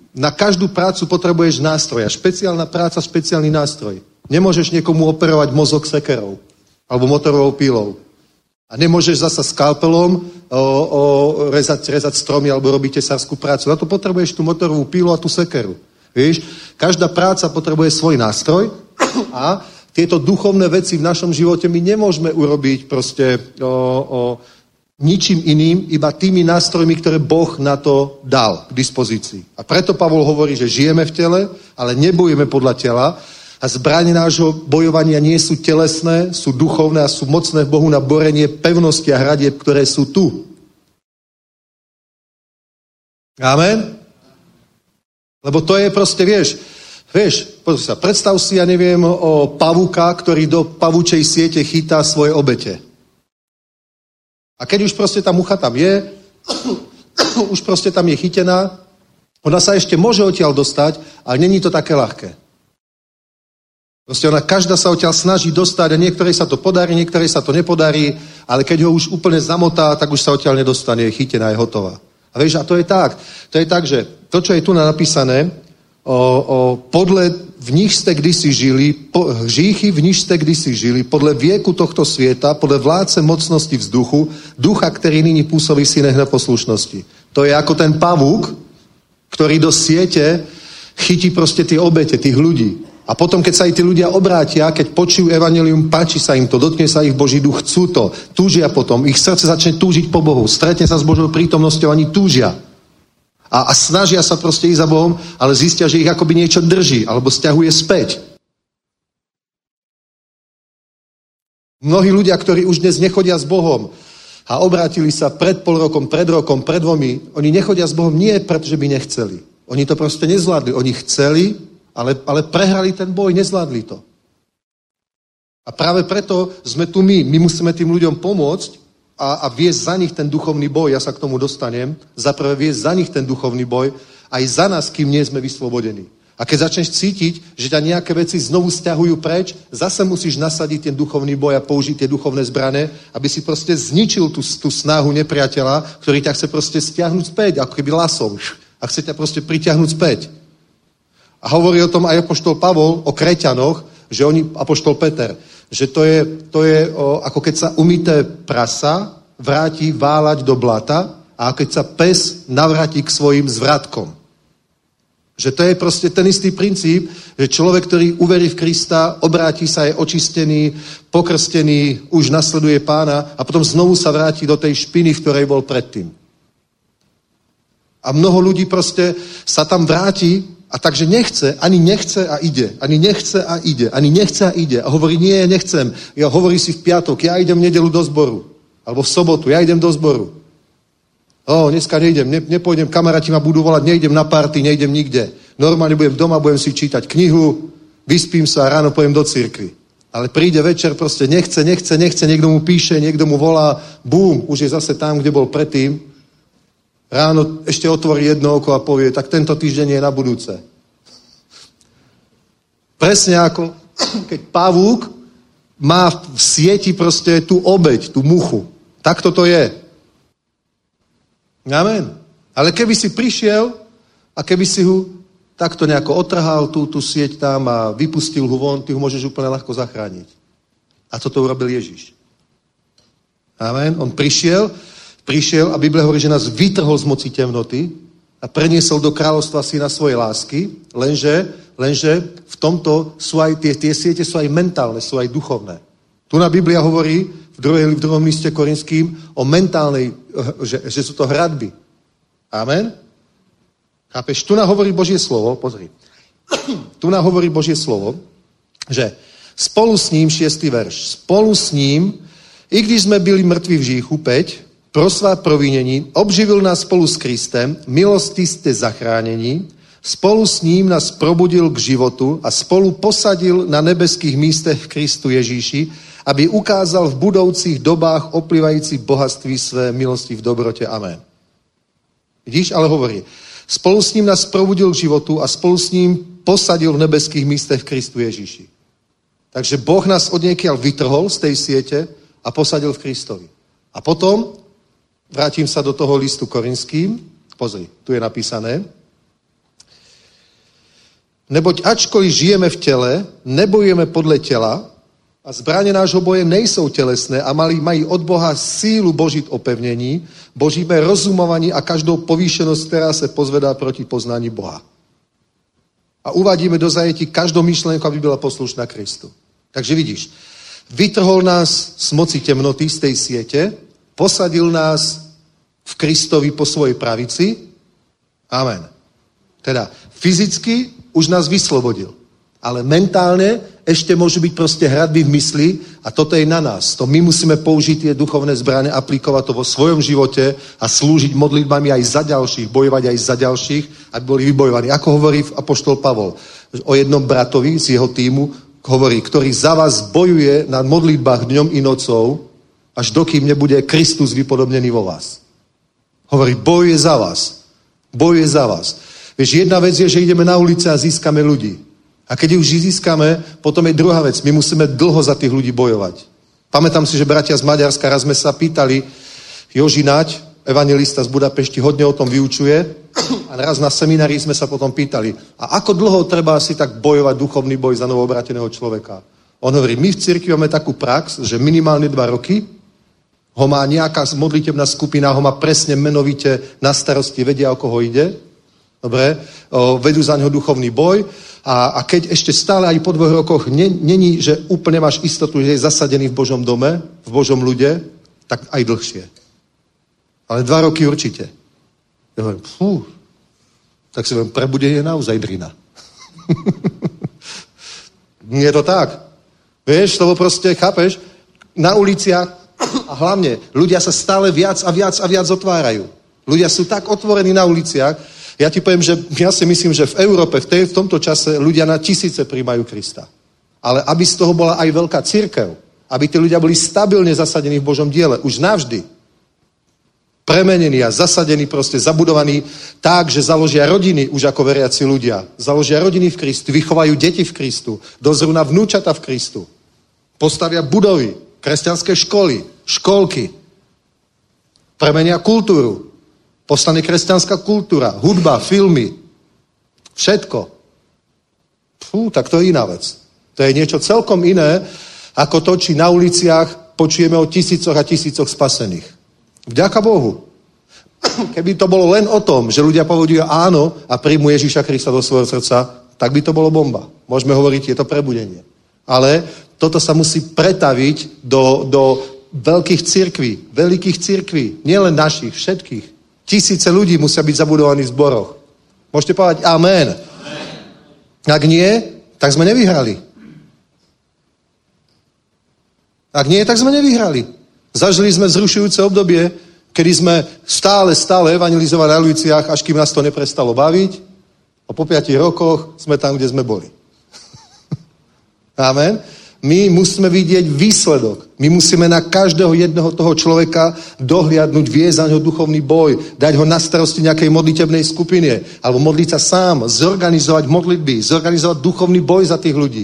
Na každú prácu potrebuješ nástroj. A špeciálna práca, špeciálny nástroj. Nemôžeš niekomu operovať mozog sekerou alebo motorovou pílou. A nemôžeš zasa skalpelom o, o, rezať, rezať stromy alebo robiť tesárskú prácu. Na to potrebuješ tú motorovú pílu a tú sekeru. Víš? Každá práca potrebuje svoj nástroj a tieto duchovné veci v našom živote my nemôžeme urobiť proste o, o, ničím iným, iba tými nástrojmi, ktoré Boh na to dal k dispozícii. A preto Pavol hovorí, že žijeme v tele, ale nebojujeme podľa tela a zbrane nášho bojovania nie sú telesné, sú duchovné a sú mocné v Bohu na borenie pevnosti a hradieb, ktoré sú tu. Amen? Lebo to je proste, vieš, vieš, pozri sa, predstav si, ja neviem, o pavúka, ktorý do pavúčej siete chytá svoje obete. A keď už proste tá mucha tam je, už proste tam je chytená, ona sa ešte môže odtiaľ dostať, ale není to také ľahké. Proste ona každá sa odtiaľ snaží dostať a niektorej sa to podarí, niektorej sa to nepodarí, ale keď ho už úplne zamotá, tak už sa odtiaľ nedostane, je chytená, je hotová. A vieš, a to je tak. To je tak, že to, čo je tu napísané, o, o, podle v nich ste kdysi žili, po, hříchy v nich ste kdysi žili, podle vieku tohto svieta, podle vládce mocnosti vzduchu, ducha, ktorý nyní pôsobí v synech neposlušnosti. To je ako ten pavúk, ktorý do siete chytí proste tie obete, tých ľudí. A potom, keď sa aj tí ľudia obrátia, keď počujú evanjelium, páči sa im to, dotkne sa ich Boží duch, chcú to, túžia potom, ich srdce začne túžiť po Bohu, stretne sa s Božou prítomnosťou, ani túžia. A, a snažia sa proste ísť za Bohom, ale zistia, že ich akoby niečo drží, alebo sťahuje späť. Mnohí ľudia, ktorí už dnes nechodia s Bohom a obrátili sa pred pol rokom, pred rokom, pred dvomi, oni nechodia s Bohom nie preto, že by nechceli. Oni to proste nezvládli. Oni chceli, Ale, ale prehrali ten boj, nezvládli to. A práve preto sme tu my. My musíme tým ľuďom pomôcť a, a viesť za nich ten duchovný boj. Ja sa k tomu dostanem. Zaprvé viesť za nich ten duchovný boj aj za nás, kým nie sme vyslobodení. A keď začneš cítiť, že ťa nejaké veci znovu stiahujú preč, zase musíš nasadiť ten duchovný boj a použiť tie duchovné zbrane, aby si proste zničil tú, tú snahu nepriateľa, ktorý ťa chce proste stiahnuť späť, ako keby lasom. A chce ťa proste pritiahnuť späť. A hovorí o tom aj apoštol Pavol, o Kreťanoch, že oni, apoštol Peter, že to je, to je o, ako keď sa umyté prasa vráti váľať do blata a keď sa pes navráti k svojim zvratkom. Že to je proste ten istý princíp, že človek, ktorý uverí v Krista, obráti sa, je očistený, pokrstený, už nasleduje Pána a potom znovu sa vráti do tej špiny, v ktorej bol predtým. A mnoho ľudí proste sa tam vráti a takže nechce, ani nechce a ide. Ani nechce a ide. Ani nechce a ide. A hovorí, nie, nechcem. Ja hovorí si v piatok, ja idem v nedeľu do zboru. Alebo v sobotu, ja idem do zboru. O, dneska nejdem, ne, nepôjdem, kamaráti ma budú volať, nejdem na party, nejdem nikde. Normálne budem doma, budem si čítať knihu, vyspím sa a ráno pojem do cirkvi. Ale príde večer, proste nechce, nechce, nechce, niekto mu píše, niekto mu volá, bum, už je zase tam, kde bol predtým. Ráno ešte otvorí jedno oko a povie, tak tento týždeň je na budúce. Presne ako keď pavúk má v sieti proste tú obeť, tú muchu. Tak toto je. Amen. Ale keby si prišiel a keby si ho takto nejako otrhal tú, tú sieť tam a vypustil ho von, ty ho môžeš úplne ľahko zachrániť. A toto urobil Ježiš. Amen. On prišiel Prišiel a Biblia hovorí, že nás vytrhol z moci temnoty a preniesol do kráľovstva syna svojej lásky, lenže, lenže v tomto sú aj tie, tie siete sú aj mentálne, sú aj duchovné. Tu na Biblia hovorí v, druhej, v druhom liste Korinským o mentálnej, že, že sú to hradby. Amen? Chápeš? Tu nám hovorí Božie slovo, pozri. Tu nám hovorí Božie slovo, že spolu s ním, šiestý verš, spolu s ním, i když sme byli mŕtvi v hříchu, päť, pro svá provinení, obživil nás spolu s Kristem, milosti ste zachránení, spolu s ním nás probudil k životu a spolu posadil na nebeských místech v Kristu Ježíši, aby ukázal v budoucích dobách oplývající bohatství své milosti v dobrote. Amen. Vidíš, ale hovorí, spolu s ním nás probudil k životu a spolu s ním posadil v nebeských místech v Kristu Ježíši. Takže Boh nás odniekiaľ vytrhol z tej siete a posadil v Kristovi. A potom vrátim sa do toho listu Korinským. Pozri, tu je napísané. Neboť ačkoliv žijeme v tele, nebojujeme podle tela a zbraně nášho boje nejsou tělesné a mají, mají od Boha sílu božit opevnění, božíme rozumovaní a každou povýšenost, která se pozvedá proti poznání Boha. A uvádíme do zajetí každou myšlenku, aby byla poslušná Kristu. Takže vidíš, vytrhol nás z moci temnoty, z tej siete, posadil nás v Kristovi po svojej pravici. Amen. Teda fyzicky už nás vyslobodil. Ale mentálne ešte môžu byť proste hradby v mysli a toto je na nás. To my musíme použiť tie duchovné zbrane, aplikovať to vo svojom živote a slúžiť modlitbami aj za ďalších, bojovať aj za ďalších, aby boli vybojovaní. Ako hovorí apoštol Pavol o jednom bratovi z jeho týmu, hovorí, ktorý za vás bojuje na modlitbách dňom i nocou, až dokým nebude Kristus vypodobnený vo vás. Hovorí, bojuje za vás. Bojuje za vás. Vieš, jedna vec je, že ideme na ulice a získame ľudí. A keď už získame, potom je druhá vec. My musíme dlho za tých ľudí bojovať. Pamätám si, že bratia z Maďarska, raz sme sa pýtali, Joži Naď, evangelista z Budapešti, hodne o tom vyučuje. A raz na seminári sme sa potom pýtali, a ako dlho treba asi tak bojovať duchovný boj za novoobráteného človeka? On hovorí, my v cirkvi máme takú prax, že minimálne dva roky ho má nejaká modlitebná skupina, ho má presne menovite na starosti, vedia, o koho ide. Dobre, o, vedú za neho duchovný boj a, a keď ešte stále aj po dvoch rokoch ne, není, že úplne máš istotu, že je zasadený v Božom dome, v Božom ľude, tak aj dlhšie. Ale dva roky určite. Ja hovorím, fú, tak si hovorím, prebudenie je naozaj drina. Je to tak. Vieš, to proste, chápeš, na uliciach a hlavne ľudia sa stále viac a viac a viac otvárajú. Ľudia sú tak otvorení na uliciach. Ja ti poviem, že ja si myslím, že v Európe v, tej, v tomto čase ľudia na tisíce prijímajú Krista. Ale aby z toho bola aj veľká cirkev, aby tí ľudia boli stabilne zasadení v Božom diele, už navždy. Premenení a zasadení, proste zabudovaní tak, že založia rodiny už ako veriaci ľudia. Založia rodiny v Kristu, vychovajú deti v Kristu, dozrú na vnúčata v Kristu. Postavia budovy, kresťanské školy, školky. Premenia kultúru. Postane kresťanská kultúra, hudba, filmy, všetko. Fú, tak to je iná vec. To je niečo celkom iné, ako to, či na uliciach počujeme o tisícoch a tisícoch spasených. Vďaka Bohu. Keby to bolo len o tom, že ľudia povedia áno a príjmu Ježíša Krista do svojho srdca, tak by to bolo bomba. Môžeme hovoriť, je to prebudenie. Ale toto sa musí pretaviť do, do veľkých cirkví, veľkých cirkví, nielen našich, všetkých. Tisíce ľudí musia byť zabudovaní v zboroch. Môžete povedať amen. Amen. Ak nie, tak sme nevyhrali. Ak nie, tak sme nevyhrali. Zažili sme vzrušujúce obdobie, kedy sme stále, stále evangelizovali na uliciach, až kým nás to neprestalo baviť. A po piatich rokoch sme tam, kde sme boli. Amen. My musíme vidieť výsledok. My musíme na každého jedného toho človeka dohliadnúť, viesť za ňo duchovný boj, dať ho na starosti nejakej modlitebnej skupine, alebo modliť sa sám, zorganizovať modlitby, zorganizovať duchovný boj za tých ľudí.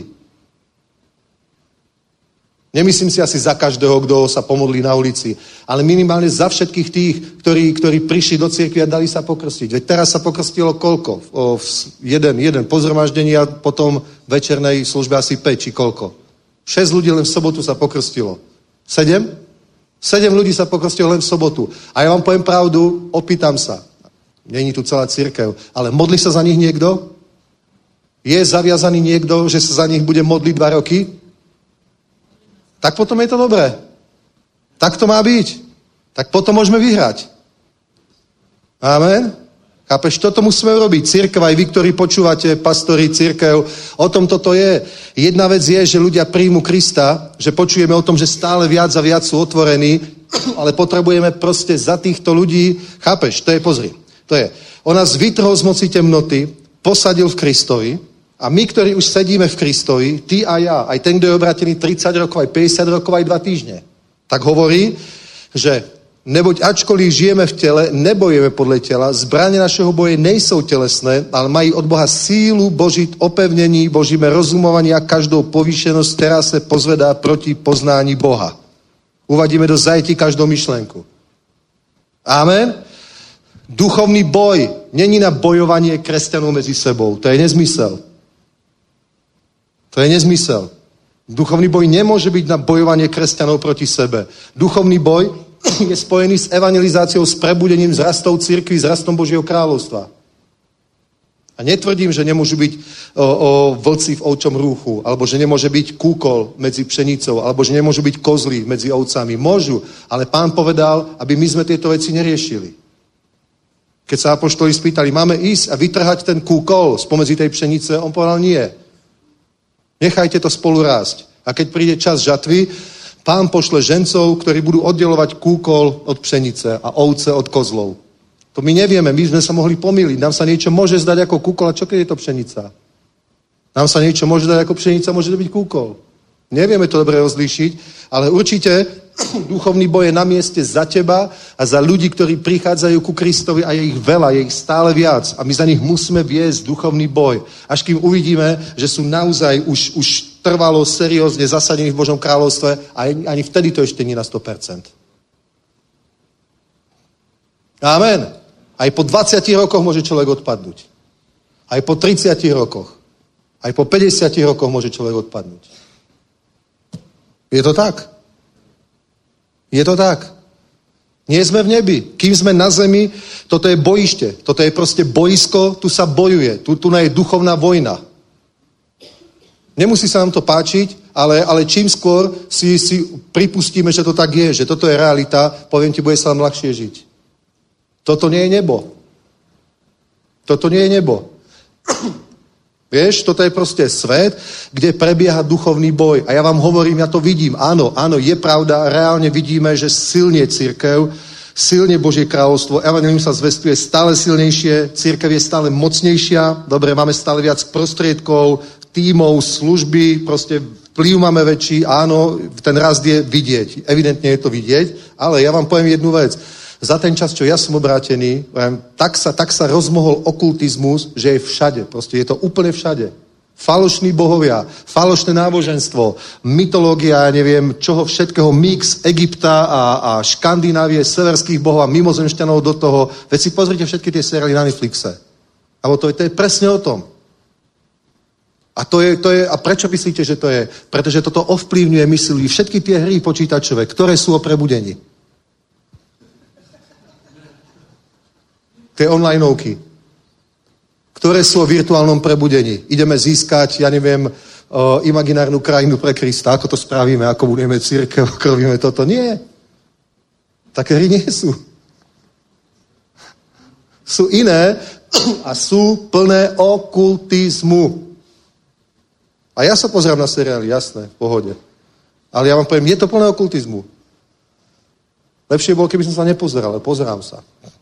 Nemyslím si asi za každého, kto sa pomodlí na ulici, ale minimálne za všetkých tých, ktorí, ktorí prišli do cirkvi a dali sa pokrstiť. Veď teraz sa pokrstilo koľko? O, jeden, jeden po zhromaždení a potom večernej službe asi päť, či koľko? Šesť ľudí len v sobotu sa pokrstilo. Sedem? Sedem ľudí sa pokrstilo len v sobotu. A ja vám poviem pravdu, opýtam sa. Není tu celá cirkev, ale modlí sa za nich niekto? Je zaviazaný niekto, že sa za nich bude modliť dva roky? Tak potom je to dobré. Tak to má byť. Tak potom môžeme vyhrať. Amen? Chápeš, toto musíme urobiť. Cirkev, aj vy, ktorí počúvate, pastori, cirkev, o tom toto je. Jedna vec je, že ľudia príjmu Krista, že počujeme o tom, že stále viac a viac sú otvorení, ale potrebujeme proste za týchto ľudí, chápeš, to je, pozri, to je, on nás vytrhol z moci temnoty, posadil v Kristovi a my, ktorí už sedíme v Kristovi, ty a ja, aj ten, kto je obrátený tridsať rokov, aj päťdesiat rokov, aj dva týždne, tak hovorí, že neboť ačkoliv žijeme v tele, nebojujeme podle těla, zbraně našeho boje nejsou tělesné, ale mají od Boha sílu božit opevnění, božíme rozumovaní a každou povýšenost, která se pozvedá proti poznání Boha. Uvadíme do zajetí každou myšlenku. Amen? Duchovný boj není na bojovanie kresťanov mezi sebou. To je nezmysel. To je nezmysel. Duchovný boj nemôže byť na bojovanie kresťanov proti sebe. Duchovný boj je spojený s evangelizáciou, s prebudením, s rastou cirkvi, s rastom Božieho kráľovstva. A netvrdím, že nemôžu byť o, o, vlci v ovčom rúchu, alebo že nemôže byť kúkol medzi pšenicou, alebo že nemôžu byť kozly medzi ovcami. Môžu, ale Pán povedal, aby my sme tieto veci neriešili. Keď sa apoštoli spýtali, máme ísť a vytrhať ten kúkol spomedzi tej pšenice, on povedal nie. Nechajte to spolu rásť. A keď príde čas žatvy, Pán pošle žencov, ktorí budú oddelovať kúkol od pšenice a ovce od kozlov. To my nevieme, my sme sa mohli pomýliť. Nám sa niečo môže zdať ako kúkol, a čo keď je to pšenica? Nám sa niečo môže zdať ako pšenica, môže to byť kúkol. Nevieme to dobre rozlíšiť, ale určite duchovný boj je na mieste za teba a za ľudí, ktorí prichádzajú ku Kristovi a je ich veľa, je ich stále viac. A my za nich musíme viesť duchovný boj. Až kým uvidíme, že sú naozaj už, už trvalo, seriózne zasadení v Božom kráľovstve a ani vtedy to ešte nie na sto percent. Amen. Aj po dvadsiatich rokoch môže človek odpadnúť. Aj po tridsiatich rokoch. Aj po päťdesiatich rokoch môže človek odpadnúť. Je to tak? Je to tak? Nie sme v nebi. Kým sme na zemi, toto je bojište. Toto je proste boisko, tu sa bojuje. Tu, tu je duchovná vojna. Nemusí sa nám to páčiť, ale, ale čím skôr si, si pripustíme, že to tak je, že toto je realita, poviem ti, bude sa nám ľahšie žiť. Toto nie je nebo. Toto nie je nebo. Vieš, toto je proste svet, kde prebieha duchovný boj. A ja vám hovorím, ja to vidím. Áno, áno, je pravda, reálne vidíme, že silne cirkev, silne Božie kráľovstvo, evangelium sa zvestuje stále silnejšie, cirkev je stále mocnejšia, dobre, máme stále viac prostriedkov, tímov, služby, proste vplyv máme väčší, áno, ten rast je vidieť. Evidentne je to vidieť, ale ja vám poviem jednu vec. Za ten čas, čo ja som obrátený, tak sa, tak sa rozmohol okultizmus, že je všade. Proste je to úplne všade. Falošní bohovia, falošné náboženstvo, mytológia, neviem, čoho všetkého, mix Egypta a, a Škandinávie, severských bohov a mimozemšťanov do toho. Veď si pozrite všetky tie seriály na Netflixe. Abo to je, to je presne o tom. A, to je, to je, a prečo myslíte, že to je? Pretože toto ovplyvňuje myslí všetky tie hry počítačové, ktoré sú o prebudení. Tie onlineovky, ktoré sú o virtuálnom prebudení. Ideme získať, ja neviem, uh, imaginárnu krajinu pre Krista. Ako to spravíme, ako budeme cirkev, ako robíme toto. Nie. Také hry nie sú. Sú iné a sú plné okultizmu. A ja sa pozerám na seriály, jasné, v pohode. Ale ja vám poviem, je to plné okultizmu. Lepšie bolo, keby som sa nepozeral, ale pozerám sa.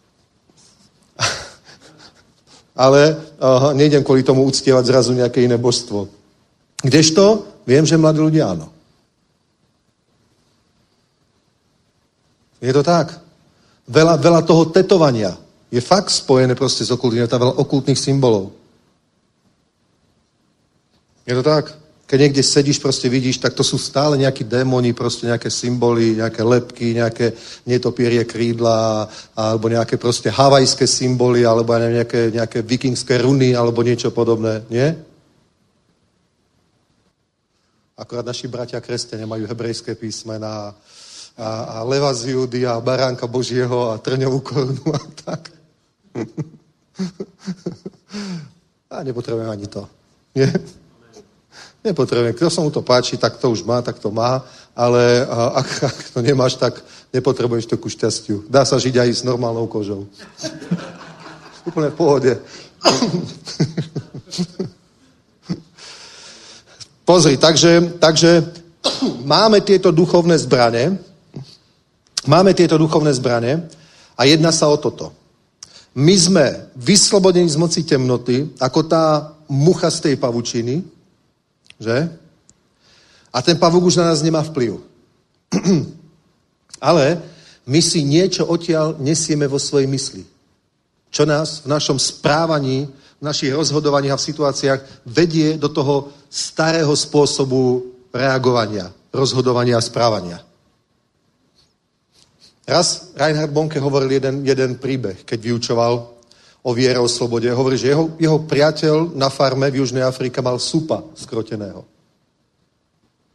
Ale uh, nejdem kvôli tomu uctievať zrazu nejaké iné božstvo. Kdežto? Viem, že mladí ľudia áno. Je to tak. Veľa, veľa toho tetovania je fakt spojené proste s okultizmom. Je to veľa okultných symbolov. Je to tak. Keď niekde sedíš, proste vidíš, tak to sú stále nejakí démoni, proste nejaké symboly, nejaké lebky, nejaké netopierie krídla, alebo nejaké proste havajské symboly, alebo nejaké, nejaké vikingské runy, alebo niečo podobné. Nie? Akorát naši bratia kresťania majú hebrejské písmená a, a leva z Júdy a baránka Božieho a trňovú korunu a tak. A nepotrebujem ani to. Nie? Nepotrebujem. Kto sa mu to páči, tak to už má, tak to má, ale ak, ak to nemáš, tak nepotrebuješ to ku šťastiu. Dá sa žiť aj s normálnou kožou. Úplne v pohode. Pozri, takže, takže máme tieto duchovné zbrane, máme tieto duchovné zbrane a jedná sa o toto. My sme vyslobodení z moci temnoty, ako tá mucha z tej pavučiny, že? A ten pavúk už na nás nemá vplyv. Ale my si niečo odtiaľ nesieme vo svojej mysli. Čo nás v našom správaní, v našich rozhodovaniach a v situáciách vedie do toho starého spôsobu reagovania, rozhodovania a správania. Raz Reinhard Bonke hovoril jeden, jeden príbeh, keď vyučoval o viere, o slobode. Hovorí, že jeho, jeho priateľ na farme v Južnej Afrike mal supa skroteného.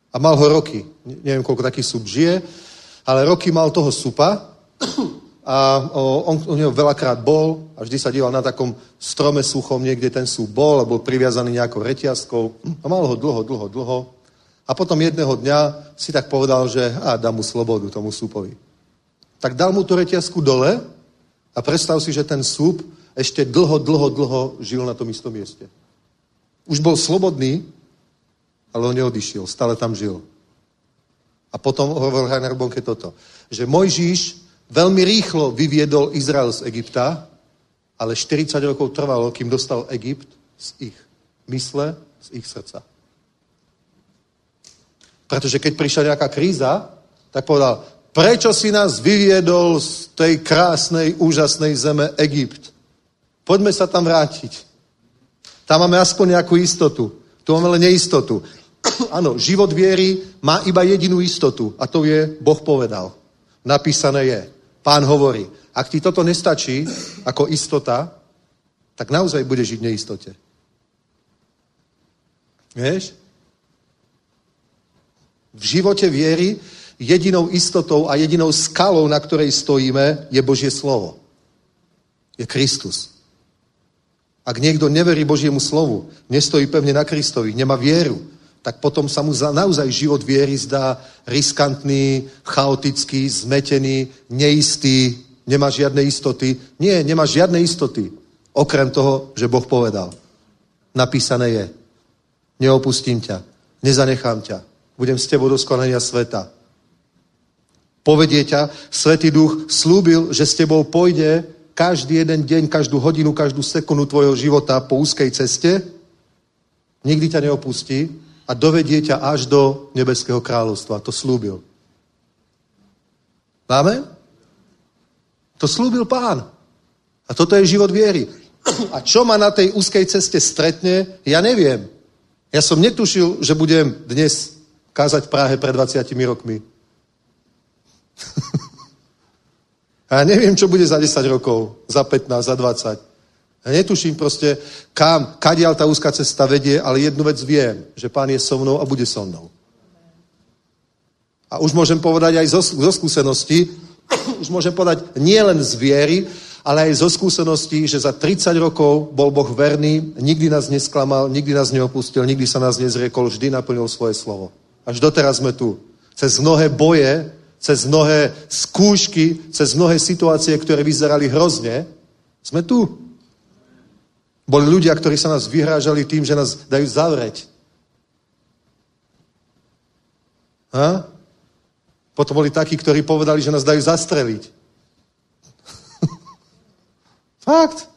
A mal ho roky. Neviem, koľko taký sup žije, ale roky mal toho supa a on u neho veľakrát bol a vždy sa díval na takom strome suchom, niekde ten sup bol a bol priviazaný nejakou reťazkou a mal ho dlho, dlho, dlho. A potom jedného dňa si tak povedal, že a dám mu slobodu tomu supovi. Tak dal mu tú reťazku dole a predstav si, že ten sup ešte dlho, dlho, dlho žil na tom istom mieste. Už bol slobodný, ale on neodišiel, stále tam žil. A potom hovoril Rainer Bonke toto, že Mojžiš veľmi rýchlo vyviedol Izrael z Egypta, ale štyridsať rokov trvalo, kým dostal Egypt z ich mysle, z ich srdca. Pretože keď prišla nejaká kríza, tak povedal, prečo si nás vyviedol z tej krásnej, úžasnej zeme Egypt? Poďme sa tam vrátiť. Tam máme aspoň nejakú istotu. Tu máme len neistotu. Áno, život viery má iba jedinú istotu a to je, Boh povedal. Napísané je. Pán hovorí. Ak ti toto nestačí ako istota, tak naozaj budeš žiť v neistote. Vieš? V živote viery jedinou istotou a jedinou skalou, na ktorej stojíme, je Božie slovo. Je Kristus. Ak niekto neverí Božiemu slovu, nestojí pevne na Kristovi, nemá vieru, tak potom sa mu naozaj život viery zdá riskantný, chaotický, zmetený, neistý, nemá žiadne istoty. Nie, nemá žiadne istoty, okrem toho, že Boh povedal. Napísané je. Neopustím ťa, nezanechám ťa, budem s tebou do skonania sveta. Povedie ťa, Svätý Duch slúbil, že s tebou pôjde každý jeden deň, každú hodinu, každú sekundu tvojho života po úzkej ceste, nikdy ťa neopustí a dovedie ťa až do nebeského kráľovstva. To slúbil. Máme? To slúbil Pán. A toto je život viery. A čo ma na tej úzkej ceste stretne, ja neviem. Ja som netušil, že budem dnes kázať v Prahe pred dvadsiatimi rokmi. A ja neviem, čo bude za desať rokov, za pätnásť, za dvadsať. Ja netuším proste, kam, kadiaľ tá úzka cesta vedie, ale jednu vec viem, že Pán je so mnou a bude so mnou. A už môžem povedať aj zo, zo skúsenosti, už môžem povedať nie len z viery, ale aj zo skúseností, že za tridsať rokov bol Boh verný, nikdy nás nesklamal, nikdy nás neopustil, nikdy sa nás nezriekol, vždy naplnil svoje slovo. Až doteraz sme tu. Cez mnohé boje, cez mnohé skúšky, cez mnohé situácie, ktoré vyzerali hrozne, sme tu. Boli ľudia, ktorí sa nás vyhrážali tým, že nás dajú zavrieť. Ha? Potom boli takí, ktorí povedali, že nás dajú zastreliť. Fakt.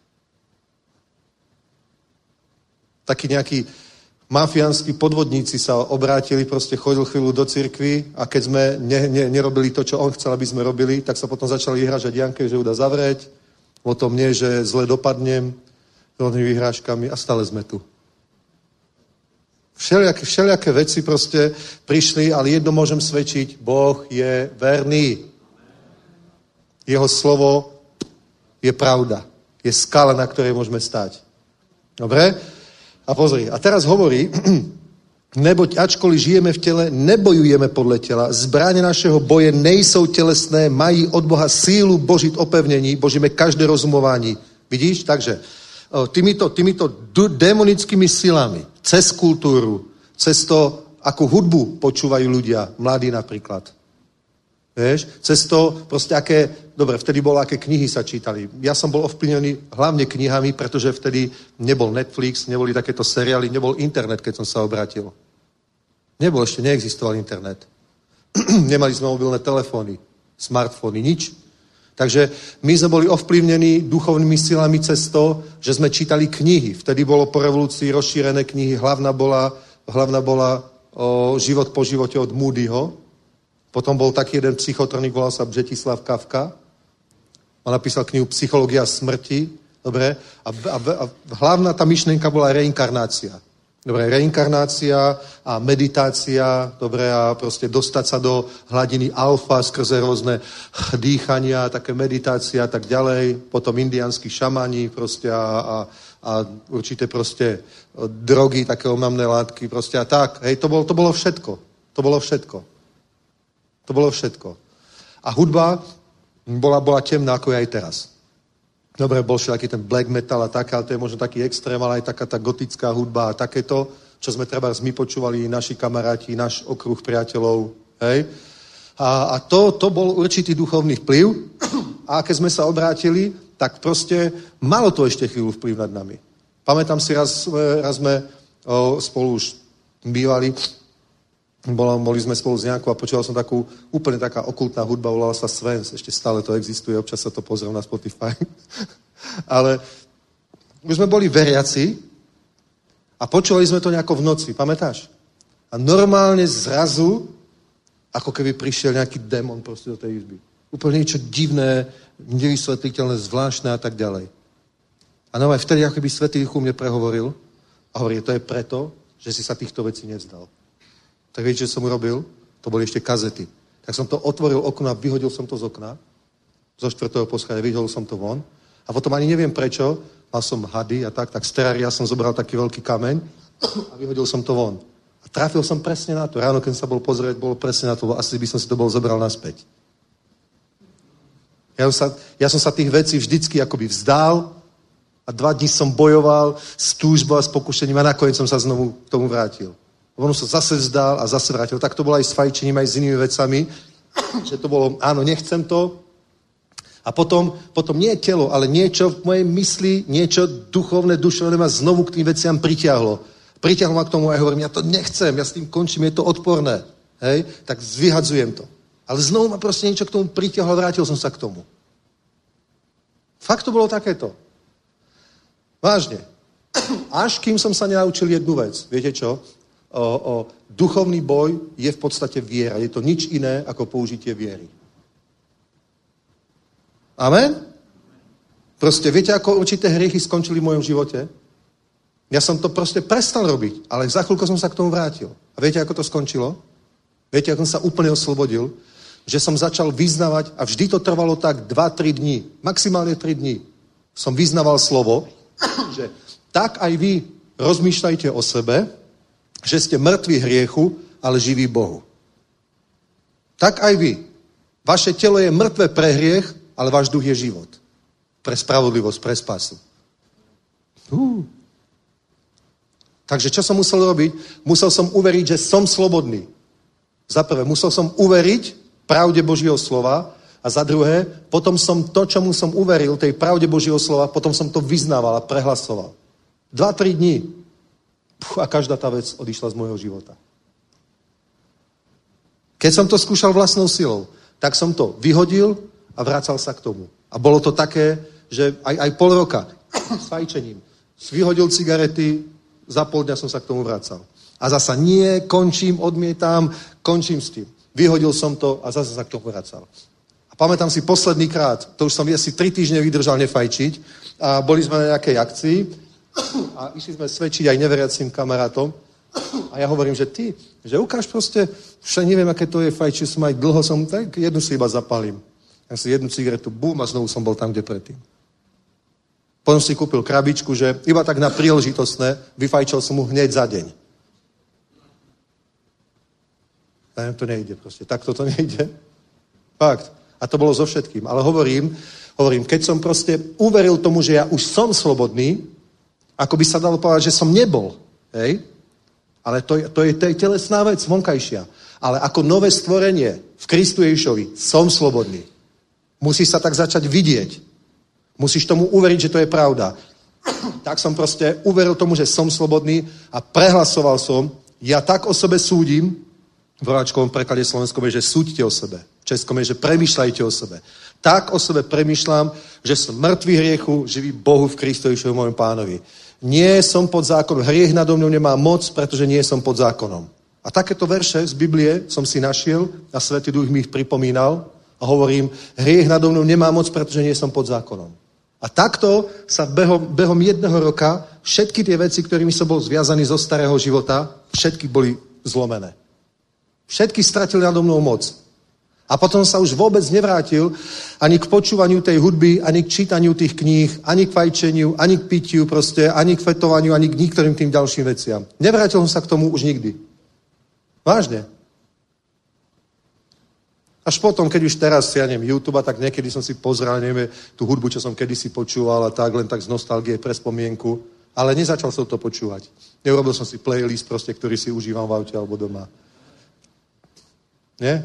Takí nejakí mafiánski podvodníci sa obrátili, proste chodil chvíľu do cirkvi a keď sme ne, ne, nerobili to, čo on chcel, aby sme robili, tak sa potom začali vyhrážať Janke, že ju dá zavrieť, o tom nie, že zle dopadnem, rôznymi vyhrážkami a stále sme tu. Všelijaké, všelijaké veci proste prišli, ale jedno môžem svedčiť, Boh je verný. Jeho slovo je pravda. Je skala, na ktorej môžeme stať. Dobre? A pozri, a teraz hovorí, neboť ačkoliv žijeme v tele, nebojujeme podle tela. Zbraně našeho boje nejsou tělesné, mají od Boha sílu božit opevnění, božíme každé rozumování. Vidíš? Takže týmito, týmito démonickými silami, cez kultúru, cez to, akú hudbu počúvajú ľudia, mladí napríklad. Vieš? Cez to, proste aké, dobre, vtedy bolo, aké knihy sa čítali. Ja som bol ovplyvnený hlavne knihami, pretože vtedy nebol Netflix, neboli takéto seriály, nebol internet, keď som sa obrátil. Nebol, ešte neexistoval internet. Nemali sme mobilné telefóny, smartfóny, nič. Takže my sme boli ovplyvnení duchovnými silami cez to, že sme čítali knihy. Vtedy bolo po revolúcii rozšírené knihy. Hlavná bola, hlavná bola o, Život po živote od Moodyho. Potom bol taký jeden psychotronik, volal sa Břetislav Kafka. On napísal knihu Psychológia smrti. Dobre? A, a, a hlavná tá myšlienka bola reinkarnácia. Dobre, reinkarnácia a meditácia, dobre, a proste dostať sa do hladiny alfa skrze rôzne dýchania, také meditácia a tak ďalej. Potom indiánsky šamani proste a, a, a určité proste drogy, také omamné látky proste a tak. Hej, to bolo, to bolo všetko. To bolo všetko. To bolo všetko. A hudba bola, bola temná, ako je aj teraz. Dobre, bol všaký ten black metal a tak, ale to je možno taký extrém, ale aj taká tá gotická hudba a takéto, čo sme treba my počúvali, naši kamaráti, náš okruh priateľov, hej. A, a to, to bol určitý duchovný vplyv a keď sme sa obrátili, tak proste malo to ešte chvíľu vplyv nad nami. Pamätám si, raz, raz sme o, spolu už bývali, bolo, boli sme spolu s nejakou a počúval som takú úplne taká okultná hudba, volala sa Svens, ešte stále to existuje, občas sa to pozriem na Spotify. Ale už sme boli veriaci a počúvali sme to nejako v noci, pamätáš? A normálne zrazu, ako keby prišiel nejaký démon proste do tej izby. Úplne niečo divné, nevysvetliteľné, zvláštne a tak ďalej. A no aj vtedy, ako keby Svätý Duch mne prehovoril a hovorí, to je preto, že si sa týchto vecí nevzdal. Tak viete, čo som urobil? To boli ešte kazety. Tak som to otvoril okno a vyhodil som to z okna. Zo štvrtého poschodia vyhodil som to von. A potom ani neviem prečo, mal som hady a tak, tak z terária som zobral taký veľký kameň a vyhodil som to von. A trafil som presne na to. Ráno, keď som sa bol pozrieť, bolo presne na to, asi by som si to bol zobral naspäť. Ja som sa, ja som sa tých vecí vždycky akoby vzdal a dva dní som bojoval s túžbou a s pokušením a nakoniec som sa znovu k tomu vrátil. On sa zase vzdal a zase vrátil. Tak to bolo aj s fajčením, aj s inými vecami, že to bolo, áno, nechcem to. A potom, potom nie telo, ale niečo v mojej mysli, niečo duchovné, duševné ma znovu k tým veciam pritiahlo. Pritiahlo ma k tomu a ja hovorím, ja to nechcem, ja s tým končím, je to odporné. Hej? Tak vyhadzujem to. Ale znovu ma proste niečo k tomu pritiahlo a vrátil som sa k tomu. Fakt to bolo takéto. Vážne. Až kým som sa nenaučil jednu vec. Viete čo? O, o, duchovný boj je v podstate viera. Je to nič iné ako použitie viery. Amen? Proste viete, ako určité hriechy skončili v mojom živote? Ja som to proste prestal robiť, ale za chvíľku som sa k tomu vrátil. A viete, ako to skončilo? Viete, ako som sa úplne oslobodil? Že som začal vyznávať a vždy to trvalo tak dva tri dní. Maximálne tri dní. Som vyznával slovo, že tak aj vy rozmýšľajte o sebe, že ste mŕtvi hriechu, ale živí Bohu. Tak aj vy. Vaše telo je mŕtve pre hriech, ale váš duch je život. Pre spravodlivosť, pre spásu. Uh. Takže čo som musel robiť? Musel som uveriť, že som slobodný. Za prvé, musel som uveriť pravde Božieho slova a za druhé, potom som to, čomu som uveril, tej pravde Božieho slova, potom som to vyznával a prehlasoval. Dva, tri dní. Puh, a každá tá vec odišla z môjho života. Keď som to skúšal vlastnou silou, tak som to vyhodil a vracal sa k tomu. A bolo to také, že aj, aj pol roka s fajčením. Vyhodil cigarety, za pol dňa som sa k tomu vracal. A zasa nie, končím, odmietam, končím s tým. Vyhodil som to a zase sa k tomu vracal. A pamätám si posledný krát, to už som asi tri týždne vydržal nefajčiť a boli sme na nejakej akcii a išli sme svedčiť aj neveriacím kamarátom a ja hovorím, že ty, že ukáž proste, však neviem, aké to je fajčiť, som aj dlho som, tak jednu si iba zapalím. Ja si jednu cigaretu, bum, a znovu som bol tam, kde predtým. Potom si kúpil krabičku, že iba tak na príležitostné, vyfajčil som mu hneď za deň. Ne, to nejde proste. Takto to nejde. Fakt. A to bolo so všetkým. Ale hovorím, hovorím, keď som proste uveril tomu, že ja už som slobodný, ako by sa dalo povedať, že som nebol. Hej? Ale to je, to je, to je telesná vec, vonkajšia. Ale ako nové stvorenie v Kristu Ježišovi som slobodný. Musíš sa tak začať vidieť. Musíš tomu uveriť, že to je pravda. Tak som proste uveril tomu, že som slobodný a prehlasoval som, ja tak o sebe súdim, v roháčkovom preklade slovenskom je, že súďte o sebe. V českom je, že premýšľajte o sebe. Tak o sebe premýšľam, že som mŕtvý hriechu, živý Bohu v Kristu Ježišovi, môjom pánovi. Nie som pod zákonom. Hriech nado mnou nemá moc, pretože nie som pod zákonom. A takéto verše z Biblie som si našiel a Svätý Duch mi ich pripomínal a hovorím, hriech nado mnou nemá moc, pretože nie som pod zákonom. A takto sa behom, behom jedného roka všetky tie veci, ktorými som bol zviazaný zo starého života, všetky boli zlomené. Všetky stratili nado mnou moc. A potom sa už vôbec nevrátil ani k počúvaniu tej hudby, ani k čítaniu tých kníh, ani k fajčeniu, ani k pitiu proste, ani k fetovaniu, ani k niektorým tým ďalším veciam. Nevrátil som sa k tomu už nikdy. Vážne. Až potom, keď už teraz, ja neviem, YouTube, tak niekedy som si pozrel, neviem, tú hudbu, čo som kedysi počúval a tak, len tak z nostalgie pre spomienku, ale nezačal som to počúvať. Neurobil som si playlist proste, ktorý si užívam v aute alebo doma. Nie?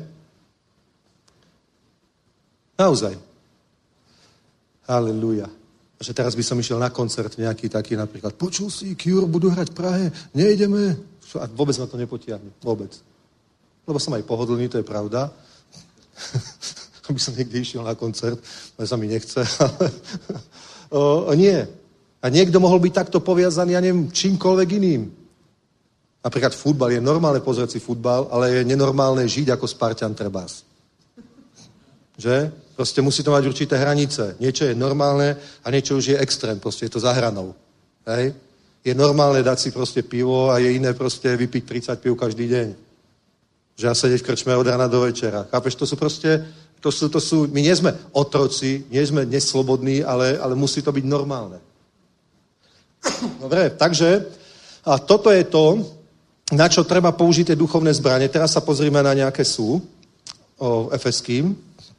Naozaj. Halelúja. A že teraz by som išiel na koncert nejaký taký napríklad, počul si, Cure budú hrať v Prahe, nejdeme. A vôbec ma to nepotiahne. Vôbec. Lebo som aj pohodlný, to je pravda. Aby som niekde išiel na koncert, ale sa mi nechce. o, o, nie. A niekto mohol byť takto poviazaný, ja neviem, čímkoľvek iným. Napríklad futbal. Je normálne pozrieť si futbal, ale je nenormálne žiť ako Spartan trebás. Že? Proste musí to mať určité hranice. Niečo je normálne a niečo už je extrém. Proste je to za hranou. Hej? Je normálne dať si proste pivo a je iné proste vypiť tridsať piv každý deň. Že ja sedieť v krčme od rána do večera. Chápeš? To sú proste, to sú, to sú, my nie sme otroci, nie sme dnes slobodní, ale, ale musí to byť normálne. Dobre, takže a toto je to, na čo treba použiť tie duchovné zbranie. Teraz sa pozrime na nejaké sú o Efeským.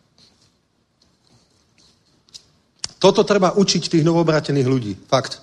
Toto treba učiť tých novoobrátených ľudí. Fakt.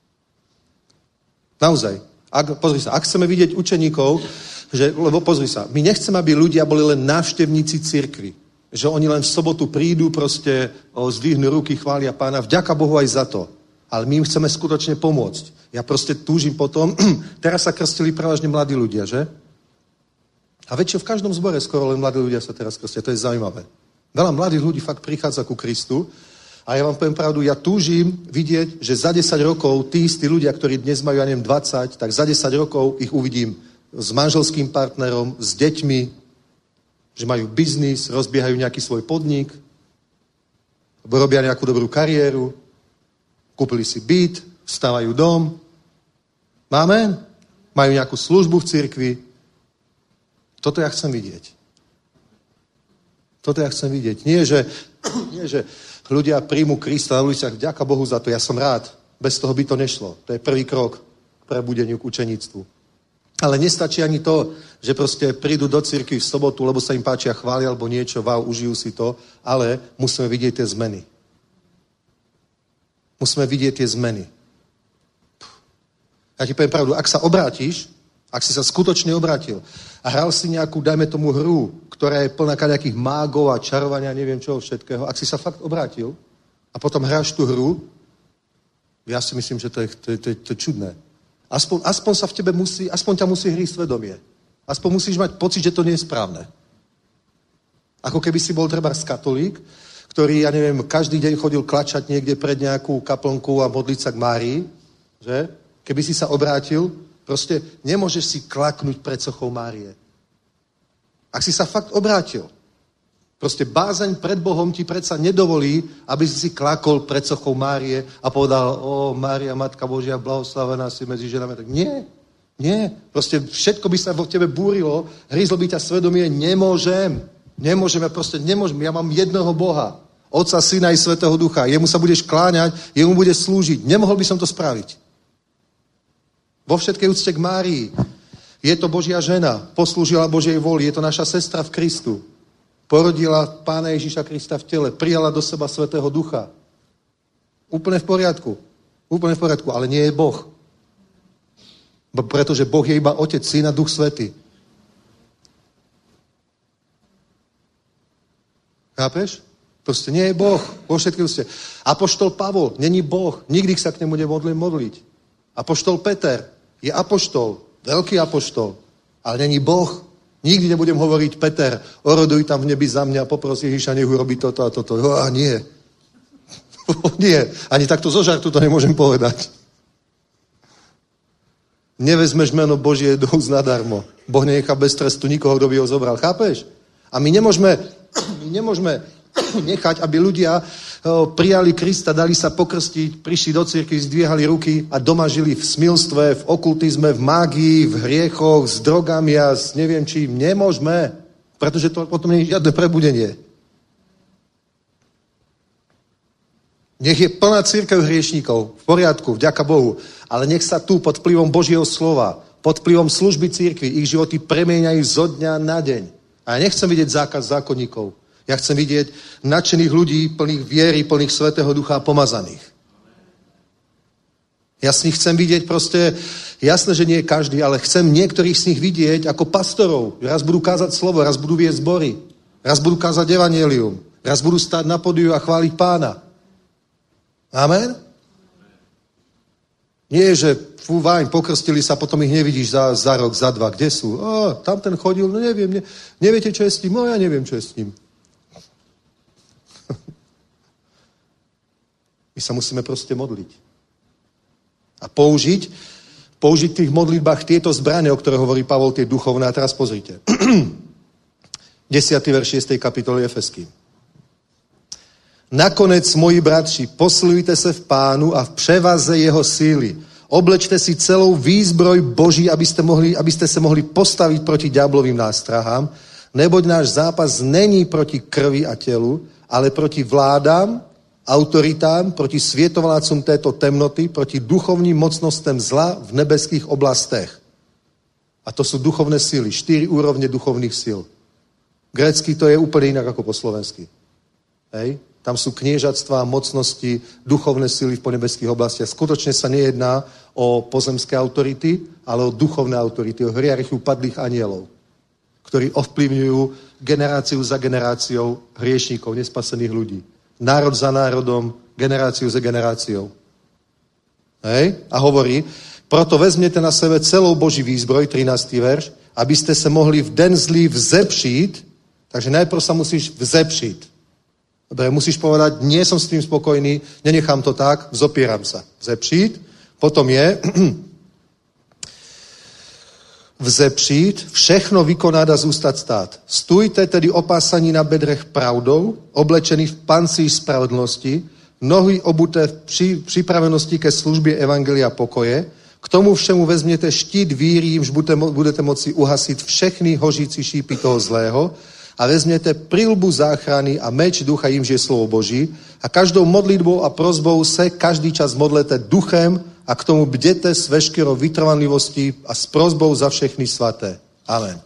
Naozaj. Ak, pozri sa, ak chceme vidieť učeníkov, že, lebo pozri sa, my nechceme, aby ľudia boli len návštevníci cirkvi. Že oni len v sobotu prídu, proste o, zdvihnú ruky, chvália Pána. Vďaka Bohu aj za to. Ale my im chceme skutočne pomôcť. Ja proste túžim potom, teraz sa krstili prevažne mladí ľudia, že? A väčšie v každom zbore skoro len mladí ľudia sa teraz krstia. To je zaujímavé. Veľa mladých ľudí fakt prichádza ku Kristu. A ja vám poviem pravdu, ja túžim vidieť, že za desať rokov tí istí ľudia, ktorí dnes majú, ja neviem, dvadsať, tak za desať rokov ich uvidím s manželským partnerom, s deťmi, že majú biznis, rozbiehajú nejaký svoj podnik, robia nejakú dobrú kariéru, kúpili si byt, vstávajú dom. Máme? Majú nejakú službu v cirkvi. Toto ja chcem vidieť. Toto ja chcem vidieť. Nie, že, nie, že ľudia príjmu Krista na uliciach, vďaka Bohu za to, ja som rád. Bez toho by to nešlo. To je prvý krok k prebudeniu, k učeníctvu. Ale nestačí ani to, že proste prídu do cirkvi v sobotu, lebo sa im páčia chváli alebo niečo, wow, užijú si to, ale musíme vidieť tie zmeny. Musíme vidieť tie zmeny. Ja ti poviem pravdu, ak sa obrátiš, ak si sa skutočne obrátil a hral si nejakú, dajme tomu hru, ktorá je plná nejakých mágov a čarovania, neviem čoho všetkého, ak si sa fakt obrátil a potom hráš tú hru, ja si myslím, že to je, to je, to je, to je čudné. Aspoň, aspoň sa v tebe musí, aspoň ťa musí hrísť svedomie. Aspoň musíš mať pocit, že to nie je správne. Ako keby si bol trebárs katolík, ktorý, ja neviem, každý deň chodil klačať niekde pred nejakú kaplnku a modliť sa k Márii, že? Keby si sa obrátil, proste nemôžeš si klaknúť pred sochou Márie. Ak si sa fakt obrátil, proste bázeň pred Bohom ti predsa nedovolí, aby si si klakol pred sochou Márie a povedal, o Mária, Matka Božia, blahoslavená si medzi ženami. Tak nie, nie. Proste všetko by sa vo tebe búrilo, hryzlo by ťa svedomie, nemôžem. Nemôžem, ja proste nemôžem. Ja mám jednoho Boha, Otca, Syna i Svätého Ducha. Jemu sa budeš kláňať, jemu budeš slúžiť. Nemohol by som to spraviť. Vo všetkej úcte k Márii. Je to Božia žena, poslúžila Božej voli, je to naša sestra v Kristu. Porodila Pána Ježiša Krista v tele, prijala do seba Svätého Ducha. Úplne v poriadku. Úplne v poriadku, ale nie je Boh. Pretože Boh je iba Otec, Syn a Duch Svätý. Chápeš? Proste nie je Boh. Vo všetkej úcte. Apoštol Pavol není Boh. Nikdy sa k nemu nemodlím modliť. Apoštol Peter je apoštol, veľký apoštol, ale není Boh. Nikdy nebudem hovoriť, Peter, oroduj tam v nebi za mňa, popros Ježiša, nech urobí toto a toto. Jo, a nie. Nie. Ani takto zo žartu to nemôžem povedať. Nevezmeš meno Božie do úst nadarmo. Boh nenechá bez trestu nikoho, kto by ho zobral. Chápeš? A my nemôžeme, my nemôžeme nechať, aby ľudia prijali Krista, dali sa pokrstiť, prišli do cirkvi, zdvíhali ruky a doma žili v smilstve, v okultizme, v mágii, v hriechoch, s drogami a s neviem čím. Nemôžeme, pretože to potom nie je žiadne prebudenie. Nech je plná cirkev hriešníkov, v poriadku, vďaka Bohu, ale nech sa tu pod vplyvom Božieho slova, pod vplyvom služby cirkvi ich životy premieňajú zo dňa na deň. A ja nechcem vidieť zákaz zákonníkov. Ja chcem vidieť nadšených ľudí, plných viery, plných Svätého Ducha a pomazaných. Ja z nich chcem vidieť proste, jasné, že nie každý, ale chcem niektorých z nich vidieť ako pastorov. Raz budú kázať slovo, raz budú viesť zbory, raz budú kázať evanjelium, raz budú stáť na podiu a chváliť Pána. Amen? Nie, že fú, váň, pokrstili sa, potom ich nevidíš za, za rok, za dva. Kde sú? O, tam ten chodil, no neviem, ne, neviete, čo je s ním? No ja neviem, čo je s ním. My sa musíme proste modliť. A použiť, použiť v tých modlitbách tieto zbrane, o ktoré hovorí Pavol, tie duchovné. A teraz pozrite. desiaty verš šiestej kapitoly Efeským. Nakonec, moji bratři, posilujte se v Pánu a v převaze jeho síly. Oblečte si celou výzbroj Boží, abyste, mohli, abyste se mohli postavit proti ďáblovým nástrahám, neboť náš zápas není proti krvi a tělu, ale proti vládám, autoritám, proti světovládcům této temnoty, proti duchovním mocnostem zla v nebeských oblastech. A to sú duchovné síly, štyri úrovne duchovných síl. Grécky to je úplne inak ako po slovensky. Hej? Tam sú kniežatstvá, mocnosti, duchovné síly v ponebeských oblastiach. Skutočne sa nejedná o pozemské autority, ale o duchovné autority, o hierarchiu padlých anielov, ktorí ovplyvňujú generáciu za generáciou hriešníkov, nespasených ľudí. Národ za národom, generáciu za generáciou. Hej? A hovorí, proto vezměte na sebe celou Boží výzbroj, trinásty verš, abyste se mohli v den zlý vzepřít, takže najprv sa musíš vzepřít. Dobre, musíš povedať, nie som s tým spokojný, nenechám to tak, vzopieram sa. Vzepřít, potom je vzepřít, všechno vykonat a zůstat stát. Stůjte tedy opásaní na bedrech pravdou, oblečený v pancíř spravedlnosti, nohy obuté v při, připravenosti ke službě evangelia pokoje, k tomu všemu vezměte štít víry, jimž budete, budete moci uhasit všechny hořící šípy toho zlého, a vezměte prilbu záchrany a meč ducha, jimž je slovo Boží, a každou modlitbou a prosbou se každý čas modlete duchem a k tomu bděte s veškerou vytrvanlivostí a s prosbou za všechny svaté. Amen.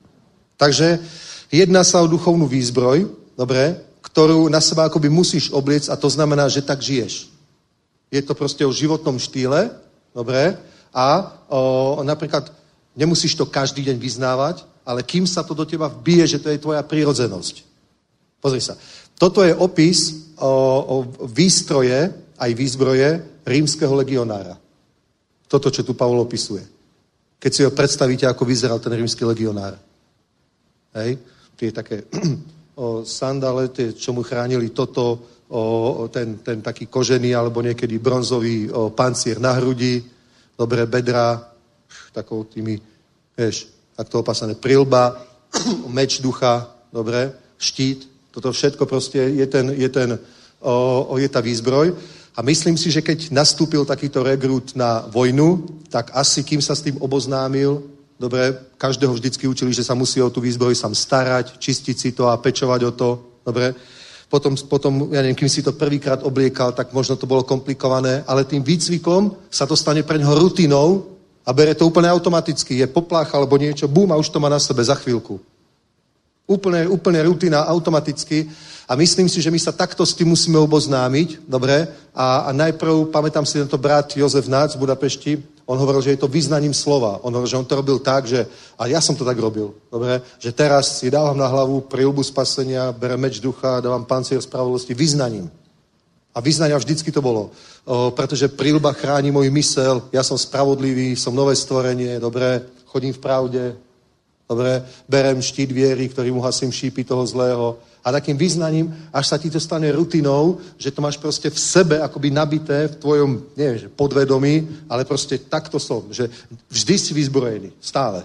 Takže jedná sa o duchovnú výzbroj, dobre, ktorú na seba akoby musíš obliec, a to znamená, že tak žiješ. Je to proste o životnom štýle, dobre, a o, napríklad nemusíš to každý deň vyznávať, ale kým sa to do teba vbije, že to je tvoja prírodzenosť. Pozri sa. Toto je opis o, o výstroje, aj výzbroje rímskeho legionára. Toto, čo tu Pavol opisuje. Keď si ho predstavíte, ako vyzeral ten rímsky legionár. Hej? Tie také o, sandále, tie, čo mu chránili toto, o, ten, ten taký kožený, alebo niekedy bronzový o, pancier na hrudi, dobré bedra, takou tými, vieš, takto opásané prilba, meč ducha, dobre, štít, toto všetko proste je, ten, je, ten, o, o, je tá výzbroj. A myslím si, že keď nastúpil takýto rekrút na vojnu, tak asi kým sa s tým oboznámil, dobre, každého vždycky učili, že sa musí o tú výzbroj sám starať, čistiť si to a pečovať o to, dobre. Potom, potom ja neviem, kým si to prvýkrát obliekal, tak možno to bolo komplikované, ale tým výcvikom sa to stane pre ňoho rutinou, a bere to úplne automaticky. Je poplach alebo niečo, bum, a už to má na sebe za chvíľku. Úplne, úplne rutina, automaticky. A myslím si, že my sa takto s tým musíme oboznámiť, dobre? A, a najprv, pamätám si tento brat Jozef Nác v Budapešti, on hovoril, že je to vyznaním slova. On hovoril, že on to robil tak, že, a ja som to tak robil, dobre? Že teraz si dávam na hlavu prilbu spasenia, berem meč ducha, dávam pancier spravodlivosti vyznaním. A vyznania vždycky to bolo, o, pretože prilba chráni môj mysel, ja som spravodlivý, som nové stvorenie, dobre, chodím v pravde, dobre, berem štít viery, ktorým uhasím šípy toho zlého. A takým vyznaním, až sa ti to stane rutinou, že to máš proste v sebe akoby nabité v tvojom, neviem, že podvedomí, ale proste takto som, že vždy si vyzbrojený, stále.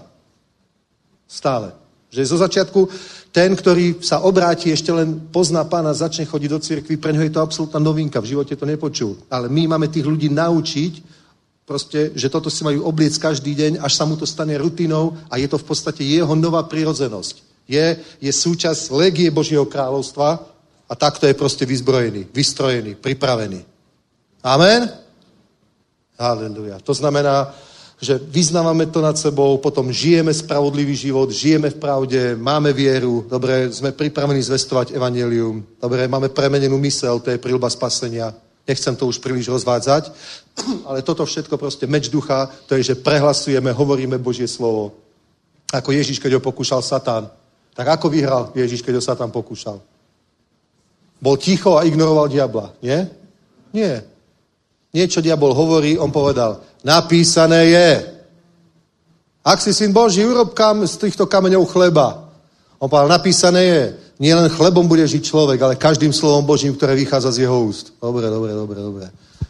Stále. Že zo začiatku ten, ktorý sa obráti, ešte len pozná Pána, začne chodiť do cirkvi, pre ňoho je to absolútna novinka, v živote to nepočul. Ale my máme tých ľudí naučiť, proste, že toto si majú obliec každý deň, až sa mu to stane rutinou a je to v podstate jeho nová prirodzenosť. Je, je súčasť legie Božieho kráľovstva a takto je proste vyzbrojený, vystrojený, pripravený. Amen? Halleluja. To znamená, že vyznávame to nad sebou, potom žijeme spravodlivý život, žijeme v pravde, máme vieru, dobre, sme pripravení zvestovať evanjelium, dobre, máme premenenú mysel, to je príľuba spasenia. Nechcem to už príliš rozvádzať, ale toto všetko proste meč ducha, to je, že prehlasujeme, hovoríme Božie slovo. Ako Ježiš, keď ho pokúšal Satan. Tak ako vyhral Ježiš, keď ho Satan pokúšal? Bol ticho a ignoroval diabla, nie? Nie. Niečo diabol hovorí, on povedal, napísané je. Ak si syn Boží, urob kam z týchto kameňov chleba. On povedal, napísané je. Nie len chlebom bude žiť človek, ale každým slovom Božím, ktoré vychádza z jeho úst. Dobre, dobre, dobre, dobre.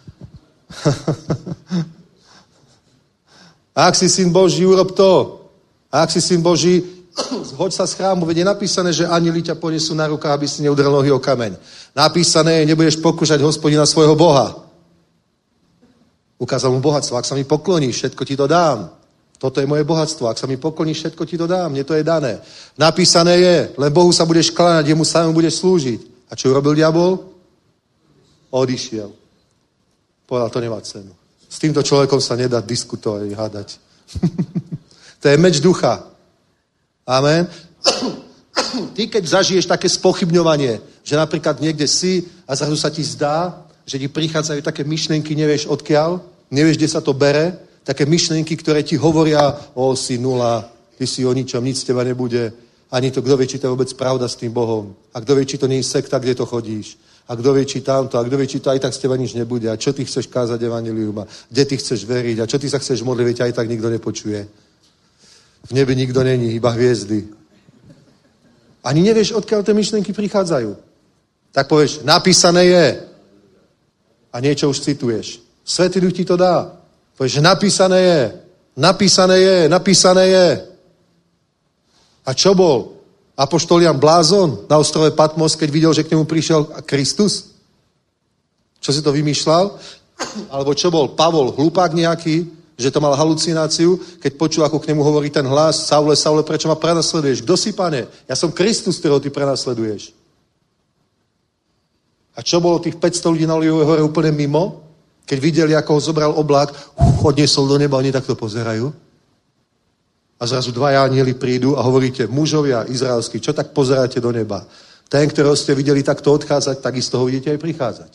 Ak si syn Boží, urob to. A ak si syn Boží, zhoď sa z chrámu. Veď je napísané, že anjeli ťa ponesú na rukách, aby si neudrel nohy o kameň. Napísané je, nebudeš pokúšať Hospodina svojho Boha. Ukázal mu bohatstvo. Ak sa mi pokloníš, všetko ti to dám. Toto je moje bohatstvo. Ak sa mi pokloníš, všetko ti to dám. Mne to je dané. Napísané je, len Bohu sa budeš kláňať, jemu samému budeš slúžiť. A čo urobil diabol? Odišiel. Povedal, to nemá cenu. S týmto človekom sa nedá diskutovať, hádať. To je meč ducha. Amen. Ty, keď zažiješ také spochybňovanie, že napríklad niekde si a zrazu sa ti zdá, že ti prichádzajú také myšlienky, nevieš odkiaľ, nevieš, kde sa to bere, také myšlienky, ktoré ti hovoria, o, si nula, ty si o ničom, nic z teba nebude, ani to, kto vie, či to je vôbec pravda s tým Bohom. A kto vie, či to nie je sekta, kde to chodíš. A kto vie, či tamto, a kto vie, či to aj tak z teba nič nebude. A čo ty chceš kázať evanjelium, a kde ty chceš veriť, a čo ty sa chceš modliť, veď aj tak nikto nepočuje. V nebi nikto není, iba hviezdy. Ani nevieš, odkiaľ tie myšlienky prichádzajú. Tak povieš, napísané je. A niečo už cituješ. Svätý Duch ti to dá. Povieš, napísané je. Napísané je, napísané je. A čo bol? Apoštol Jan blázon na ostrove Patmos, keď videl, že k nemu prišiel Kristus? Čo si to vymýšľal? Alebo čo bol? Pavol, hlupák nejaký, že to mal halucináciu, keď počul, ako k nemu hovorí ten hlas, Saule, Saule, prečo ma prenasleduješ? Kto si, pane? Ja som Kristus, ktorého ty prenasleduješ. A čo bolo tých päťsto ľudí na Olivovej hore úplne mimo? Keď videli, ako ho zobral oblak, odniesol do neba, oni takto pozerajú. A zrazu dvaja anjeli prídu a hovoríte, mužovia izraelskí, čo tak pozeráte do neba? Ten, ktorého ste videli takto odchádzať, takisto ho vidíte aj prichádzať.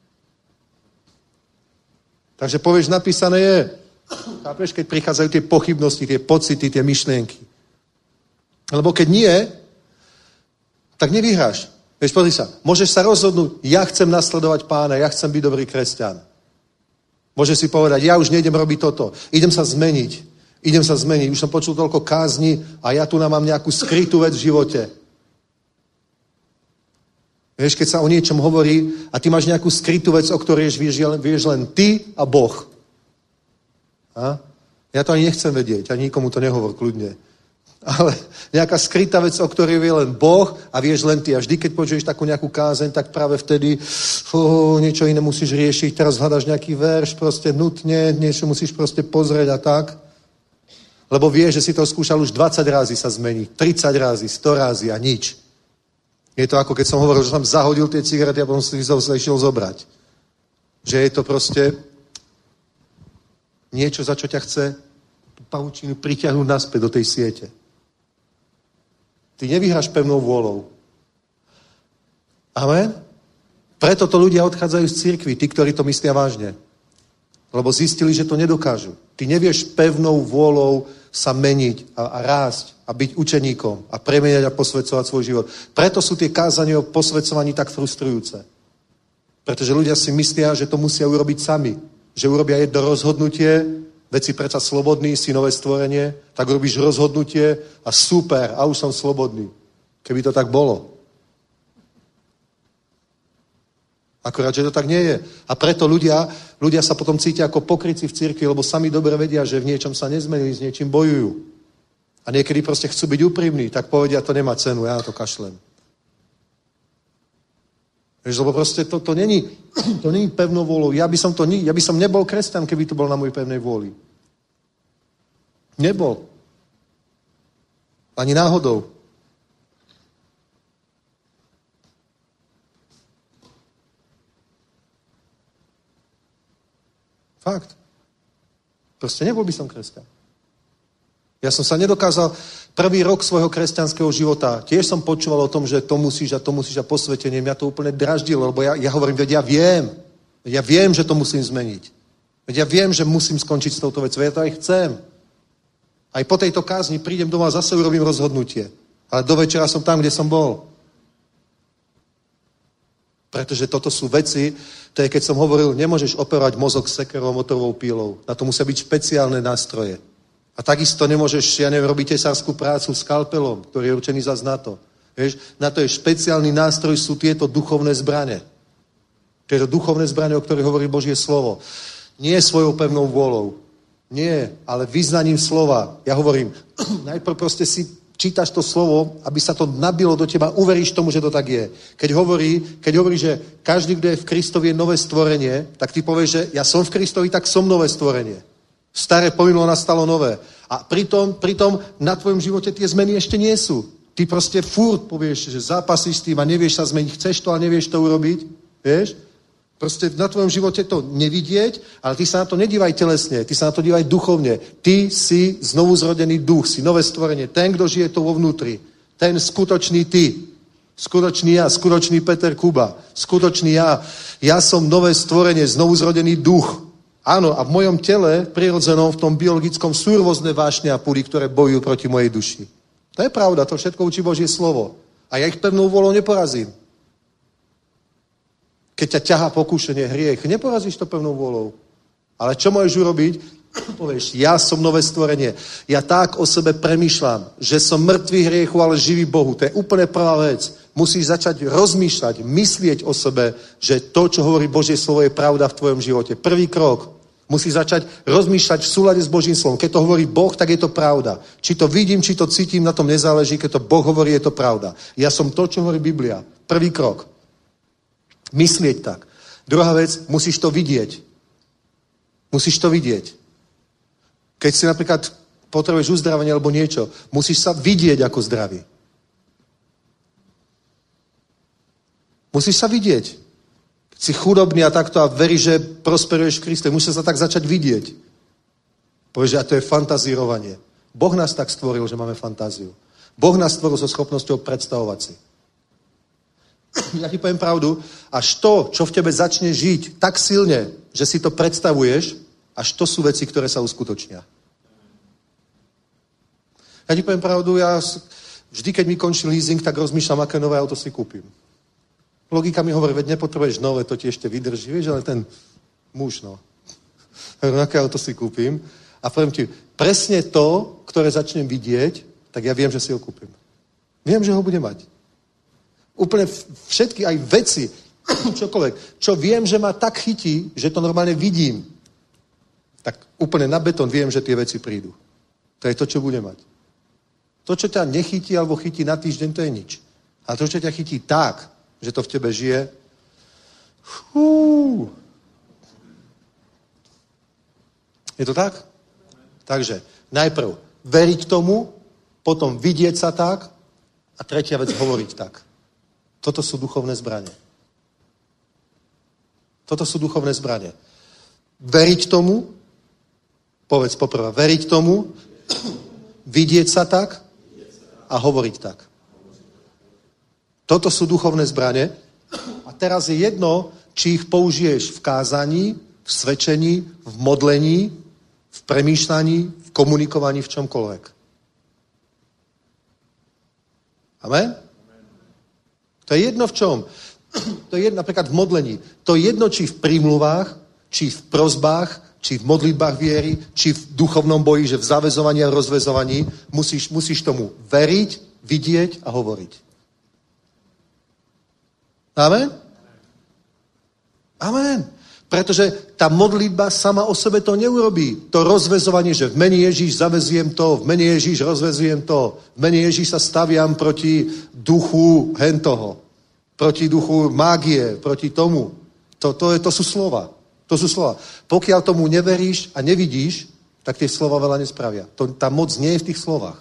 Takže povieš, napísané je. Chápeš, keď prichádzajú tie pochybnosti, tie pocity, tie myšlienky. Lebo keď nie, tak nevyhráš. Vieš, pozri sa, môžeš sa rozhodnúť, ja chcem nasledovať Pána, ja chcem byť dobrý kresťan. Môžeš si povedať, ja už nejdem robiť toto, idem sa zmeniť, idem sa zmeniť, už som počul toľko kázni a ja tu mám nejakú skrytú vec v živote. Vieš, keď sa o niečom hovorí a ty máš nejakú skrytú vec, o ktorej vieš, vieš len ty a Boh. A? Ja to ani nechcem vedieť, ani nikomu to nehovor, kľudne. Ale nejaká skrytá vec, o ktorej vie len Boh a vieš len ty. A vždy, keď počuješ takú nejakú kázeň, tak práve vtedy oh, niečo iné musíš riešiť. Teraz hľadaš nejaký verš, proste nutne, niečo musíš proste pozrieť a tak. Lebo vieš, že si to skúšal už dvadsať razy sa zmeniť, tridsať razy, sto razy a nič. Je to ako keď som hovoril, že som zahodil tie cigarety a potom si sa išiel zobrať. Že je to proste niečo, za čo ťa chce pavučinu pritiahnuť naspäť do tej siete. Ty nevyhráš pevnou vôľou. Amen? Preto to ľudia odchádzajú z cirkvi, tí, ktorí to myslia vážne. Lebo zistili, že to nedokážu. Ty nevieš pevnou vôľou sa meniť a, a rásť a byť učeníkom a premeniať a posvedcovať svoj život. Preto sú tie kázania o posvedcovaní tak frustrujúce. Pretože ľudia si myslia, že to musia urobiť sami. Že urobia jedno rozhodnutie, veď si predsa slobodný, si nové stvorenie, tak robíš rozhodnutie a super, a už som slobodný. Keby to tak bolo. Akorát, že to tak nie je. A preto ľudia, ľudia sa potom cítia ako pokrytci v cirkvi, lebo sami dobre vedia, že v niečom sa nezmenili, s niečím bojujú. A niekedy proste chcú byť úprimní, tak povedia, to nemá cenu, ja na to kašlem. Vieš, lebo proste to, to není, to není pevnou vôľou. Ja by som to, ja by som nebol kresťan, keby to bol na mojej pevnej vôli. Nebol. Ani náhodou. Fakt. Proste nebol by som kresťan. Ja som sa nedokázal prvý rok svojho kresťanského života, tiež som počúval o tom, že to musíš a to musíš a posvetenie. Mňa to úplne draždilo, lebo ja, ja hovorím, veď ja viem. Veď ja viem, že to musím zmeniť. Veď ja viem, že musím skončiť s touto vecou. Ja to aj chcem. Aj po tejto kázni prídem doma a zase urobím rozhodnutie. Ale do večera som tam, kde som bol. Pretože toto sú veci, to je, keď som hovoril, nemôžeš operovať mozog sekerou, motorovou pílou. Na to musia byť špeciálne nástroje. A takisto nemôžeš, ja neviem, robiť tesárskú prácu skalpelom, ktorý je určený zas na to. Vieš, na to je špeciálny nástroj, sú tieto duchovné zbrane. Tieto duchovné zbrane, o ktorých hovorí Božie slovo. Nie svojou pevnou vôľou. Nie, ale vyznaním slova. Ja hovorím, najprv proste si čítaš to slovo, aby sa to nabilo do teba, uveríš tomu, že to tak je. Keď hovorí, keď hovorí, že každý, kto je v Kristovi, je nové stvorenie, tak ty povieš, že ja som v Kristovi, tak som nové stvorenie. Staré pominulo, nastalo nové. A pritom, pritom na tvojom živote tie zmeny ešte nie sú. Ty proste furt povieš, že zápasíš s tým a nevieš sa zmeniť, chceš to a nevieš to urobiť. Vieš? Proste na tvojom živote to nevidieť, ale ty sa na to nedívaj telesne, ty sa na to dívaj duchovne. Ty si znovu zrodený duch, si nové stvorenie. Ten, kto žije to vo vnútri. Ten skutočný ty. Skutočný ja, skutočný Peter Kuba. Skutočný ja. Ja som nové stvorenie, znovu zrodený duch. Áno, a v mojom tele, prirodzenom, v tom biologickom, sú rôzne vášne a púdy, ktoré bojujú proti mojej duši. To je pravda, to všetko učí Božie slovo. A ja ich pevnou vôľou neporazím. Keď ťa ťahá pokúšenie, hriech, neporazíš to pevnou vôľou. Ale čo môžeš urobiť? Povieš, ja som nové stvorenie. Ja tak o sebe premýšľam, že som mŕtvý hriechu, ale živý Bohu. To je úplne prvá vec. Musíš začať rozmýšľať, myslieť o sebe, že to, čo hovorí Božie slovo, je pravda v tvojom živote. Prvý krok. Musíš začať rozmýšľať v súlade s Božím slovom. Keď to hovorí Boh, tak je to pravda. Či to vidím, či to cítim, na tom nezáleží. Keď to Boh hovorí, je to pravda. Ja som to, čo hovorí Biblia. Prvý krok. Myslieť tak. Druhá vec, musíš to vidieť. Musíš to vidieť. Keď si napríklad potrebuješ uzdravenie alebo niečo, musíš sa vidieť ako zdravý. Musíš sa vidieť. Keď si chudobný a takto a veríš, že prosperuješ v Kriste, musíš sa tak začať vidieť. Povieš, že a to je fantazírovanie. Boh nás tak stvoril, že máme fantáziu. Boh nás stvoril so schopnosťou predstavovať si. Ja ti poviem pravdu, až to, čo v tebe začne žiť tak silne, že si to predstavuješ, až to sú veci, ktoré sa uskutočnia. Ja ti poviem pravdu, ja vždy, keď mi končí leasing, tak rozmýšľam, aké nové auto si kúpim. Logika mi hovorí, veď nepotrebuješ nové, to ti ešte vydrží, vieš, ale ten muž, no. Aké auto si kúpim. A poviem ti, presne to, ktoré začnem vidieť, tak ja viem, že si ho kúpim. Viem, že ho budem mať. Úplne všetky, aj veci, čokoľvek, čo viem, že ma tak chytí, že to normálne vidím, tak úplne na betón viem, že tie veci prídu. To je to, čo budem mať. To, čo ťa nechytí alebo chytí na týždeň, to je nič. A to, čo ťa chytí tak, že to v tebe žije, fú. Je to tak? Takže najprv veriť tomu, potom vidieť sa tak a tretia vec hovoriť tak. Toto sú duchovné zbrane. Toto sú duchovné zbrane. Veriť tomu, povedz poprvé, veriť tomu, vidieť sa tak a hovoriť tak. Toto sú duchovné zbrane a teraz je jedno, či ich použiješ v kázaní, v svedčení, v modlení, v premýšľaní, v komunikovaní, v čomkoľvek. Amen? To je jedno v čom. To je jedno napríklad v modlení. To je jedno, či v prímluvách, či v prosbách, či v modlitbách viery, či v duchovnom boji, že v zaväzovaní a rozväzovaní musíš, musíš tomu veriť, vidieť a hovoriť. Amen? Amen. Pretože tá modlitba sama o sebe to neurobí. To rozväzovanie, že v mene Ježíš zaväzujem to, v mene Ježíš rozväzujem to, v mene Ježíš sa staviam proti duchu hentoho, proti duchu mágie, proti tomu. To, to, je, to sú slova. To sú slova. Pokiaľ tomu neveríš a nevidíš, tak tie slova veľa nespravia. To, tá moc nie je v tých slovách.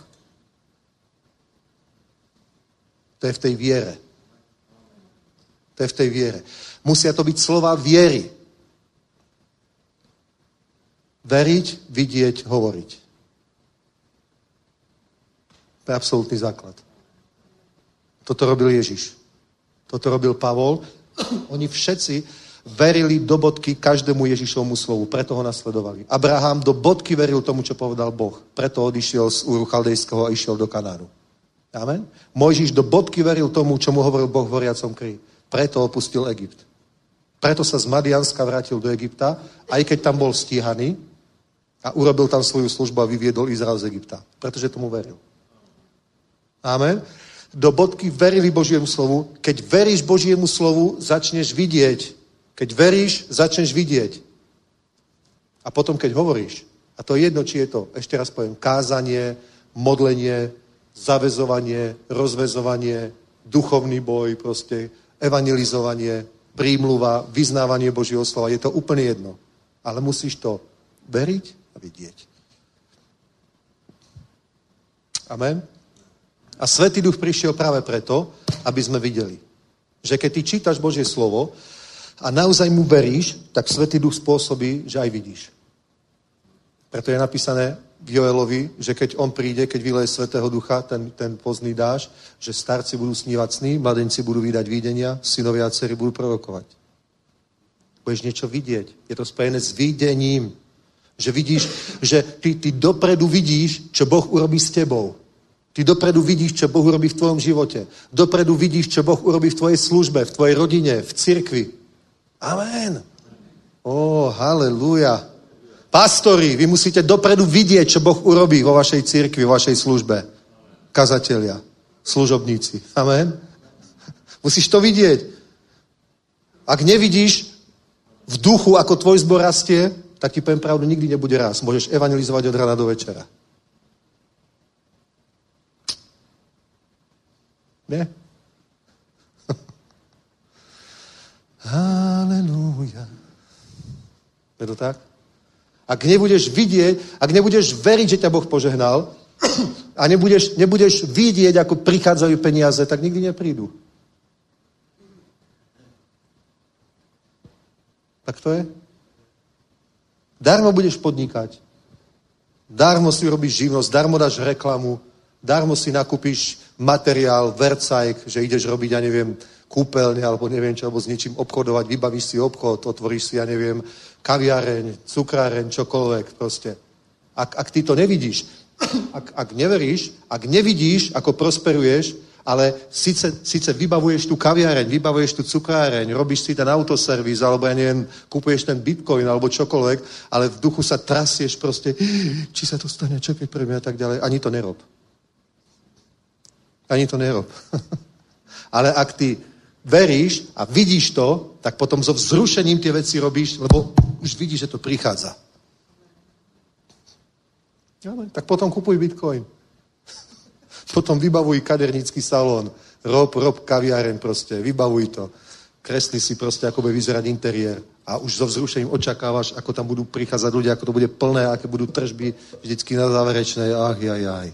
To je v tej viere. To je v tej viere. Musia to byť slova viery. Veriť, vidieť, hovoriť. To je absolútny základ. Toto robil Ježiš. Toto robil Pavol. Oni všetci verili do bodky každému Ježišovmu slovu, preto ho nasledovali. Abraham do bodky veril tomu, čo povedal Boh. Preto odišiel z Úru Chaldejského a išiel do Kanánu. Amen? Mojžiš do bodky veril tomu, čo mu hovoril Boh v horiacom kríži. Preto opustil Egypt. Preto sa z Madianska vrátil do Egypta, aj keď tam bol stíhaný a urobil tam svoju službu a vyviedol Izrael z Egypta. Pretože tomu veril. Amen? Do bodky verili Božiemu slovu. Keď veríš Božiemu slovu, začneš vidieť. Keď veríš, začneš vidieť. A potom, keď hovoríš, a to je jedno, či je to, ešte raz poviem, kázanie, modlenie, zavezovanie, rozvezovanie, duchovný boj, proste evangelizovanie, prímluva, vyznávanie Božieho slova. Je to úplne jedno. Ale musíš to veriť a vidieť. Amen? A Svätý Duch prišiel práve preto, aby sme videli, že keď ty čítaš Božie slovo a naozaj mu veríš, tak Svätý Duch spôsobí, že aj vidíš. Preto je napísané v Joelovi, že keď on príde, keď vyleje Svätého Ducha, ten, ten pozdný dáž, že starci budú snívať sny, mladenci budú vydať videnia, synovia a dcery budú prorokovať. Budeš niečo vidieť. Je to spojené s videním. Že vidíš, že ty, ty dopredu vidíš, čo Boh urobí s tebou. Ty dopredu vidíš, čo Boh urobí v tvojom živote. Dopredu vidíš, čo Boh urobí v tvojej službe, v tvojej rodine, v cirkvi. Amen. Ó, halleluja. Pastori, vy musíte dopredu vidieť, čo Boh urobí vo vašej cirkvi, vo vašej službe. Kazatelia, služobníci. Amen. Musíš to vidieť. Ak nevidíš v duchu, ako tvoj zbor rastie, tak ti poviem pravdu, nikdy nebude raz. Môžeš evangelizovať od rána do večera. Nie? Halelúja. Je to tak? Ak nebudeš vidieť, ak nebudeš veriť, že ťa Boh požehnal a nebudeš, nebudeš vidieť, ako prichádzajú peniaze, tak nikdy neprídu. Tak to je? Darmo budeš podnikať. Darmo si robíš živnosť, darmo dáš reklamu, darmo si nakúpiš materiál, vercajk, že ideš robiť, ja neviem, kúpeľne, alebo neviem čo, alebo s niečím obchodovať, vybavíš si obchod, otvoríš si, ja neviem, kaviareň, cukráreň, čokoľvek proste. Ak, ak ty to nevidíš, ak, ak neveríš, ak nevidíš, ako prosperuješ, ale síce, síce vybavuješ tú kaviareň, vybavuješ tú cukráreň, robíš si ten autoservis, alebo ja neviem, kúpuješ ten bitcoin, alebo čokoľvek, ale v duchu sa trasieš proste, či sa to stane, čo keď prvý a tak ďalej. Ani to nerob. Ani to nerob. Ale ak ty veríš a vidíš to, tak potom so vzrušením tie veci robíš, lebo už vidíš, že to prichádza. Ale, tak potom kupuj bitcoin. Potom vybavuj kadernícky salón. Rob, rob kaviareň proste. Vybavuj to. Kresli si proste, ako bude vyzerať interiér. A už so vzrušením očakávaš, ako tam budú prichádzať ľudia, ako to bude plné, aké budú tržby vždycky na záverečnej. Ach, jaj, jaj.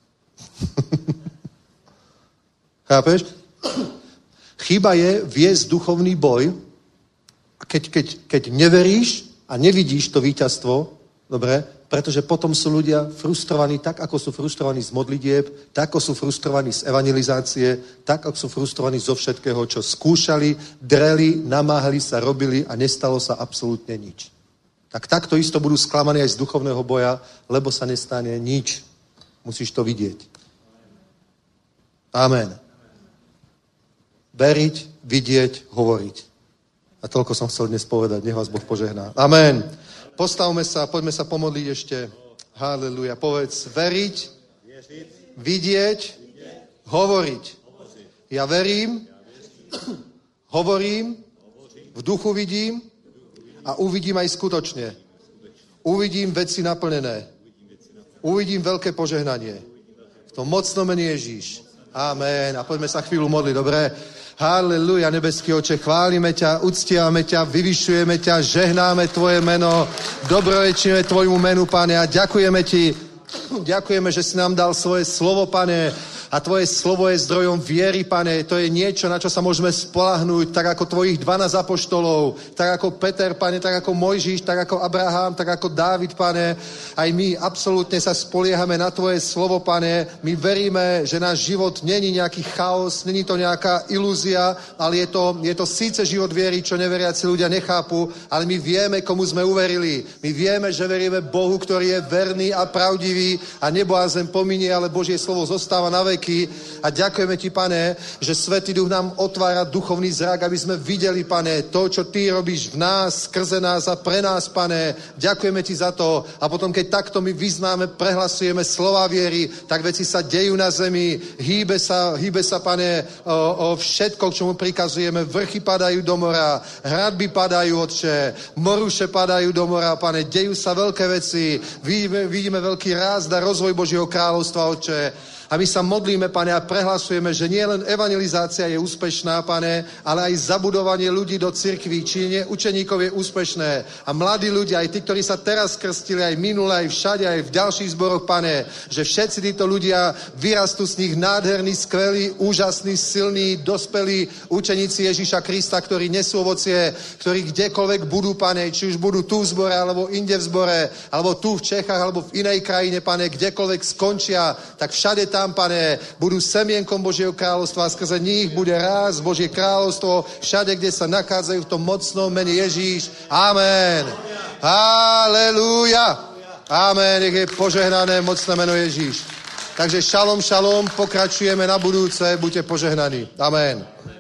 Chápeš? Chyba je viesť duchovný boj. A keď, keď, keď neveríš a nevidíš to víťazstvo, dobre, pretože potom sú ľudia frustrovaní tak, ako sú frustrovaní z modlitieb, tak, ako sú frustrovaní z evangelizácie, tak, ako sú frustrovaní zo všetkého, čo skúšali, dreli, namáhali sa, robili a nestalo sa absolútne nič. Tak takto isto budú sklamaní aj z duchovného boja, lebo sa nestane nič. Musíš to vidieť. Amen. Veriť, vidieť, hovoriť. A toľko som chcel dnes povedať. Nech vás Boh požehná. Amen. Postavme sa, poďme sa pomodliť ešte. Haleluja. Povedz, veriť, vidieť, hovoriť. Ja verím, hovorím, v duchu vidím a uvidím aj skutočne. Uvidím veci naplnené. Uvidím veľké požehnanie. V tom mocnom mene Ježíš. Amen. A poďme sa chvíľu modliť, dobre? Halleluja, nebeský Oče, chválime ťa, uctievame ťa, vyvyšujeme ťa, žehnáme Tvoje meno, dobrorečíme Tvojmu menu, Pane, a ďakujeme Ti, ďakujeme, že si nám dal svoje slovo, Pane, A tvoje slovo je zdrojom viery, pane. To je niečo, na čo sa môžeme spolahnúť, tak ako tvojich dvanásť apoštolov, tak ako Peter, pane, tak ako Mojžiš, tak ako Abraham, tak ako Dávid, pane. Aj my absolútne sa spoliehame na tvoje slovo, pane. My veríme, že náš život není nejaký chaos, není to nejaká ilúzia, ale je to, je to síce život viery, čo neveriaci ľudia nechápu, ale my vieme, komu sme uverili. My vieme, že veríme Bohu, ktorý je verný a pravdivý a nebo a zem pominie, ale Božie slovo zostáva na veky. A ďakujeme ti, pane, že Svätý Duch nám otvára duchovný zrak, aby sme videli, pane, to, čo ty robíš v nás, skrze nás a pre nás, pane. Ďakujeme ti za to. A potom, keď takto my vyznáme, prehlasujeme slova viery, tak veci sa dejú na zemi. Hýbe sa, hýbe sa, pane, o, o všetko, k čomu prikazujeme. Vrchy padajú do mora, hradby padajú, Otče, moruše padajú do mora, pane. Dejú sa veľké veci. Vidíme, vidíme veľký rást a rozvoj Božieho kráľovstva, Otče. A my sa modlíme, pane, a prehlasujeme, že nie len evangelizácia je úspešná, pane, ale aj zabudovanie ľudí do cirkví, činenie učeníkov je úspešné. A mladí ľudia, aj tí, ktorí sa teraz krstili, aj minule, aj všade, aj v ďalších zboroch, pane, že všetci títo ľudia vyrastú z nich nádherní, skvelí, úžasní, silní, dospelí učeníci Ježíša Krista, ktorí nesú ovocie, ktorí kdekoľvek budú, pane, či už budú tu v zbore, alebo inde v zbore, alebo tu v Čechách, alebo v inej krajine, pane, kdekoľvek skončia, tak všade tam, pane, budú semienkom Božieho kráľovstva a skrze nich bude rásť Božie kráľovstvo všade, kde sa nachádzajú v tom mocnom mene Ježíš. Amen. Halelúja. Amen. Nech je požehnané mocné meno Ježíš. Takže šalom, šalom, pokračujeme na budúce, buďte požehnaní. Amen.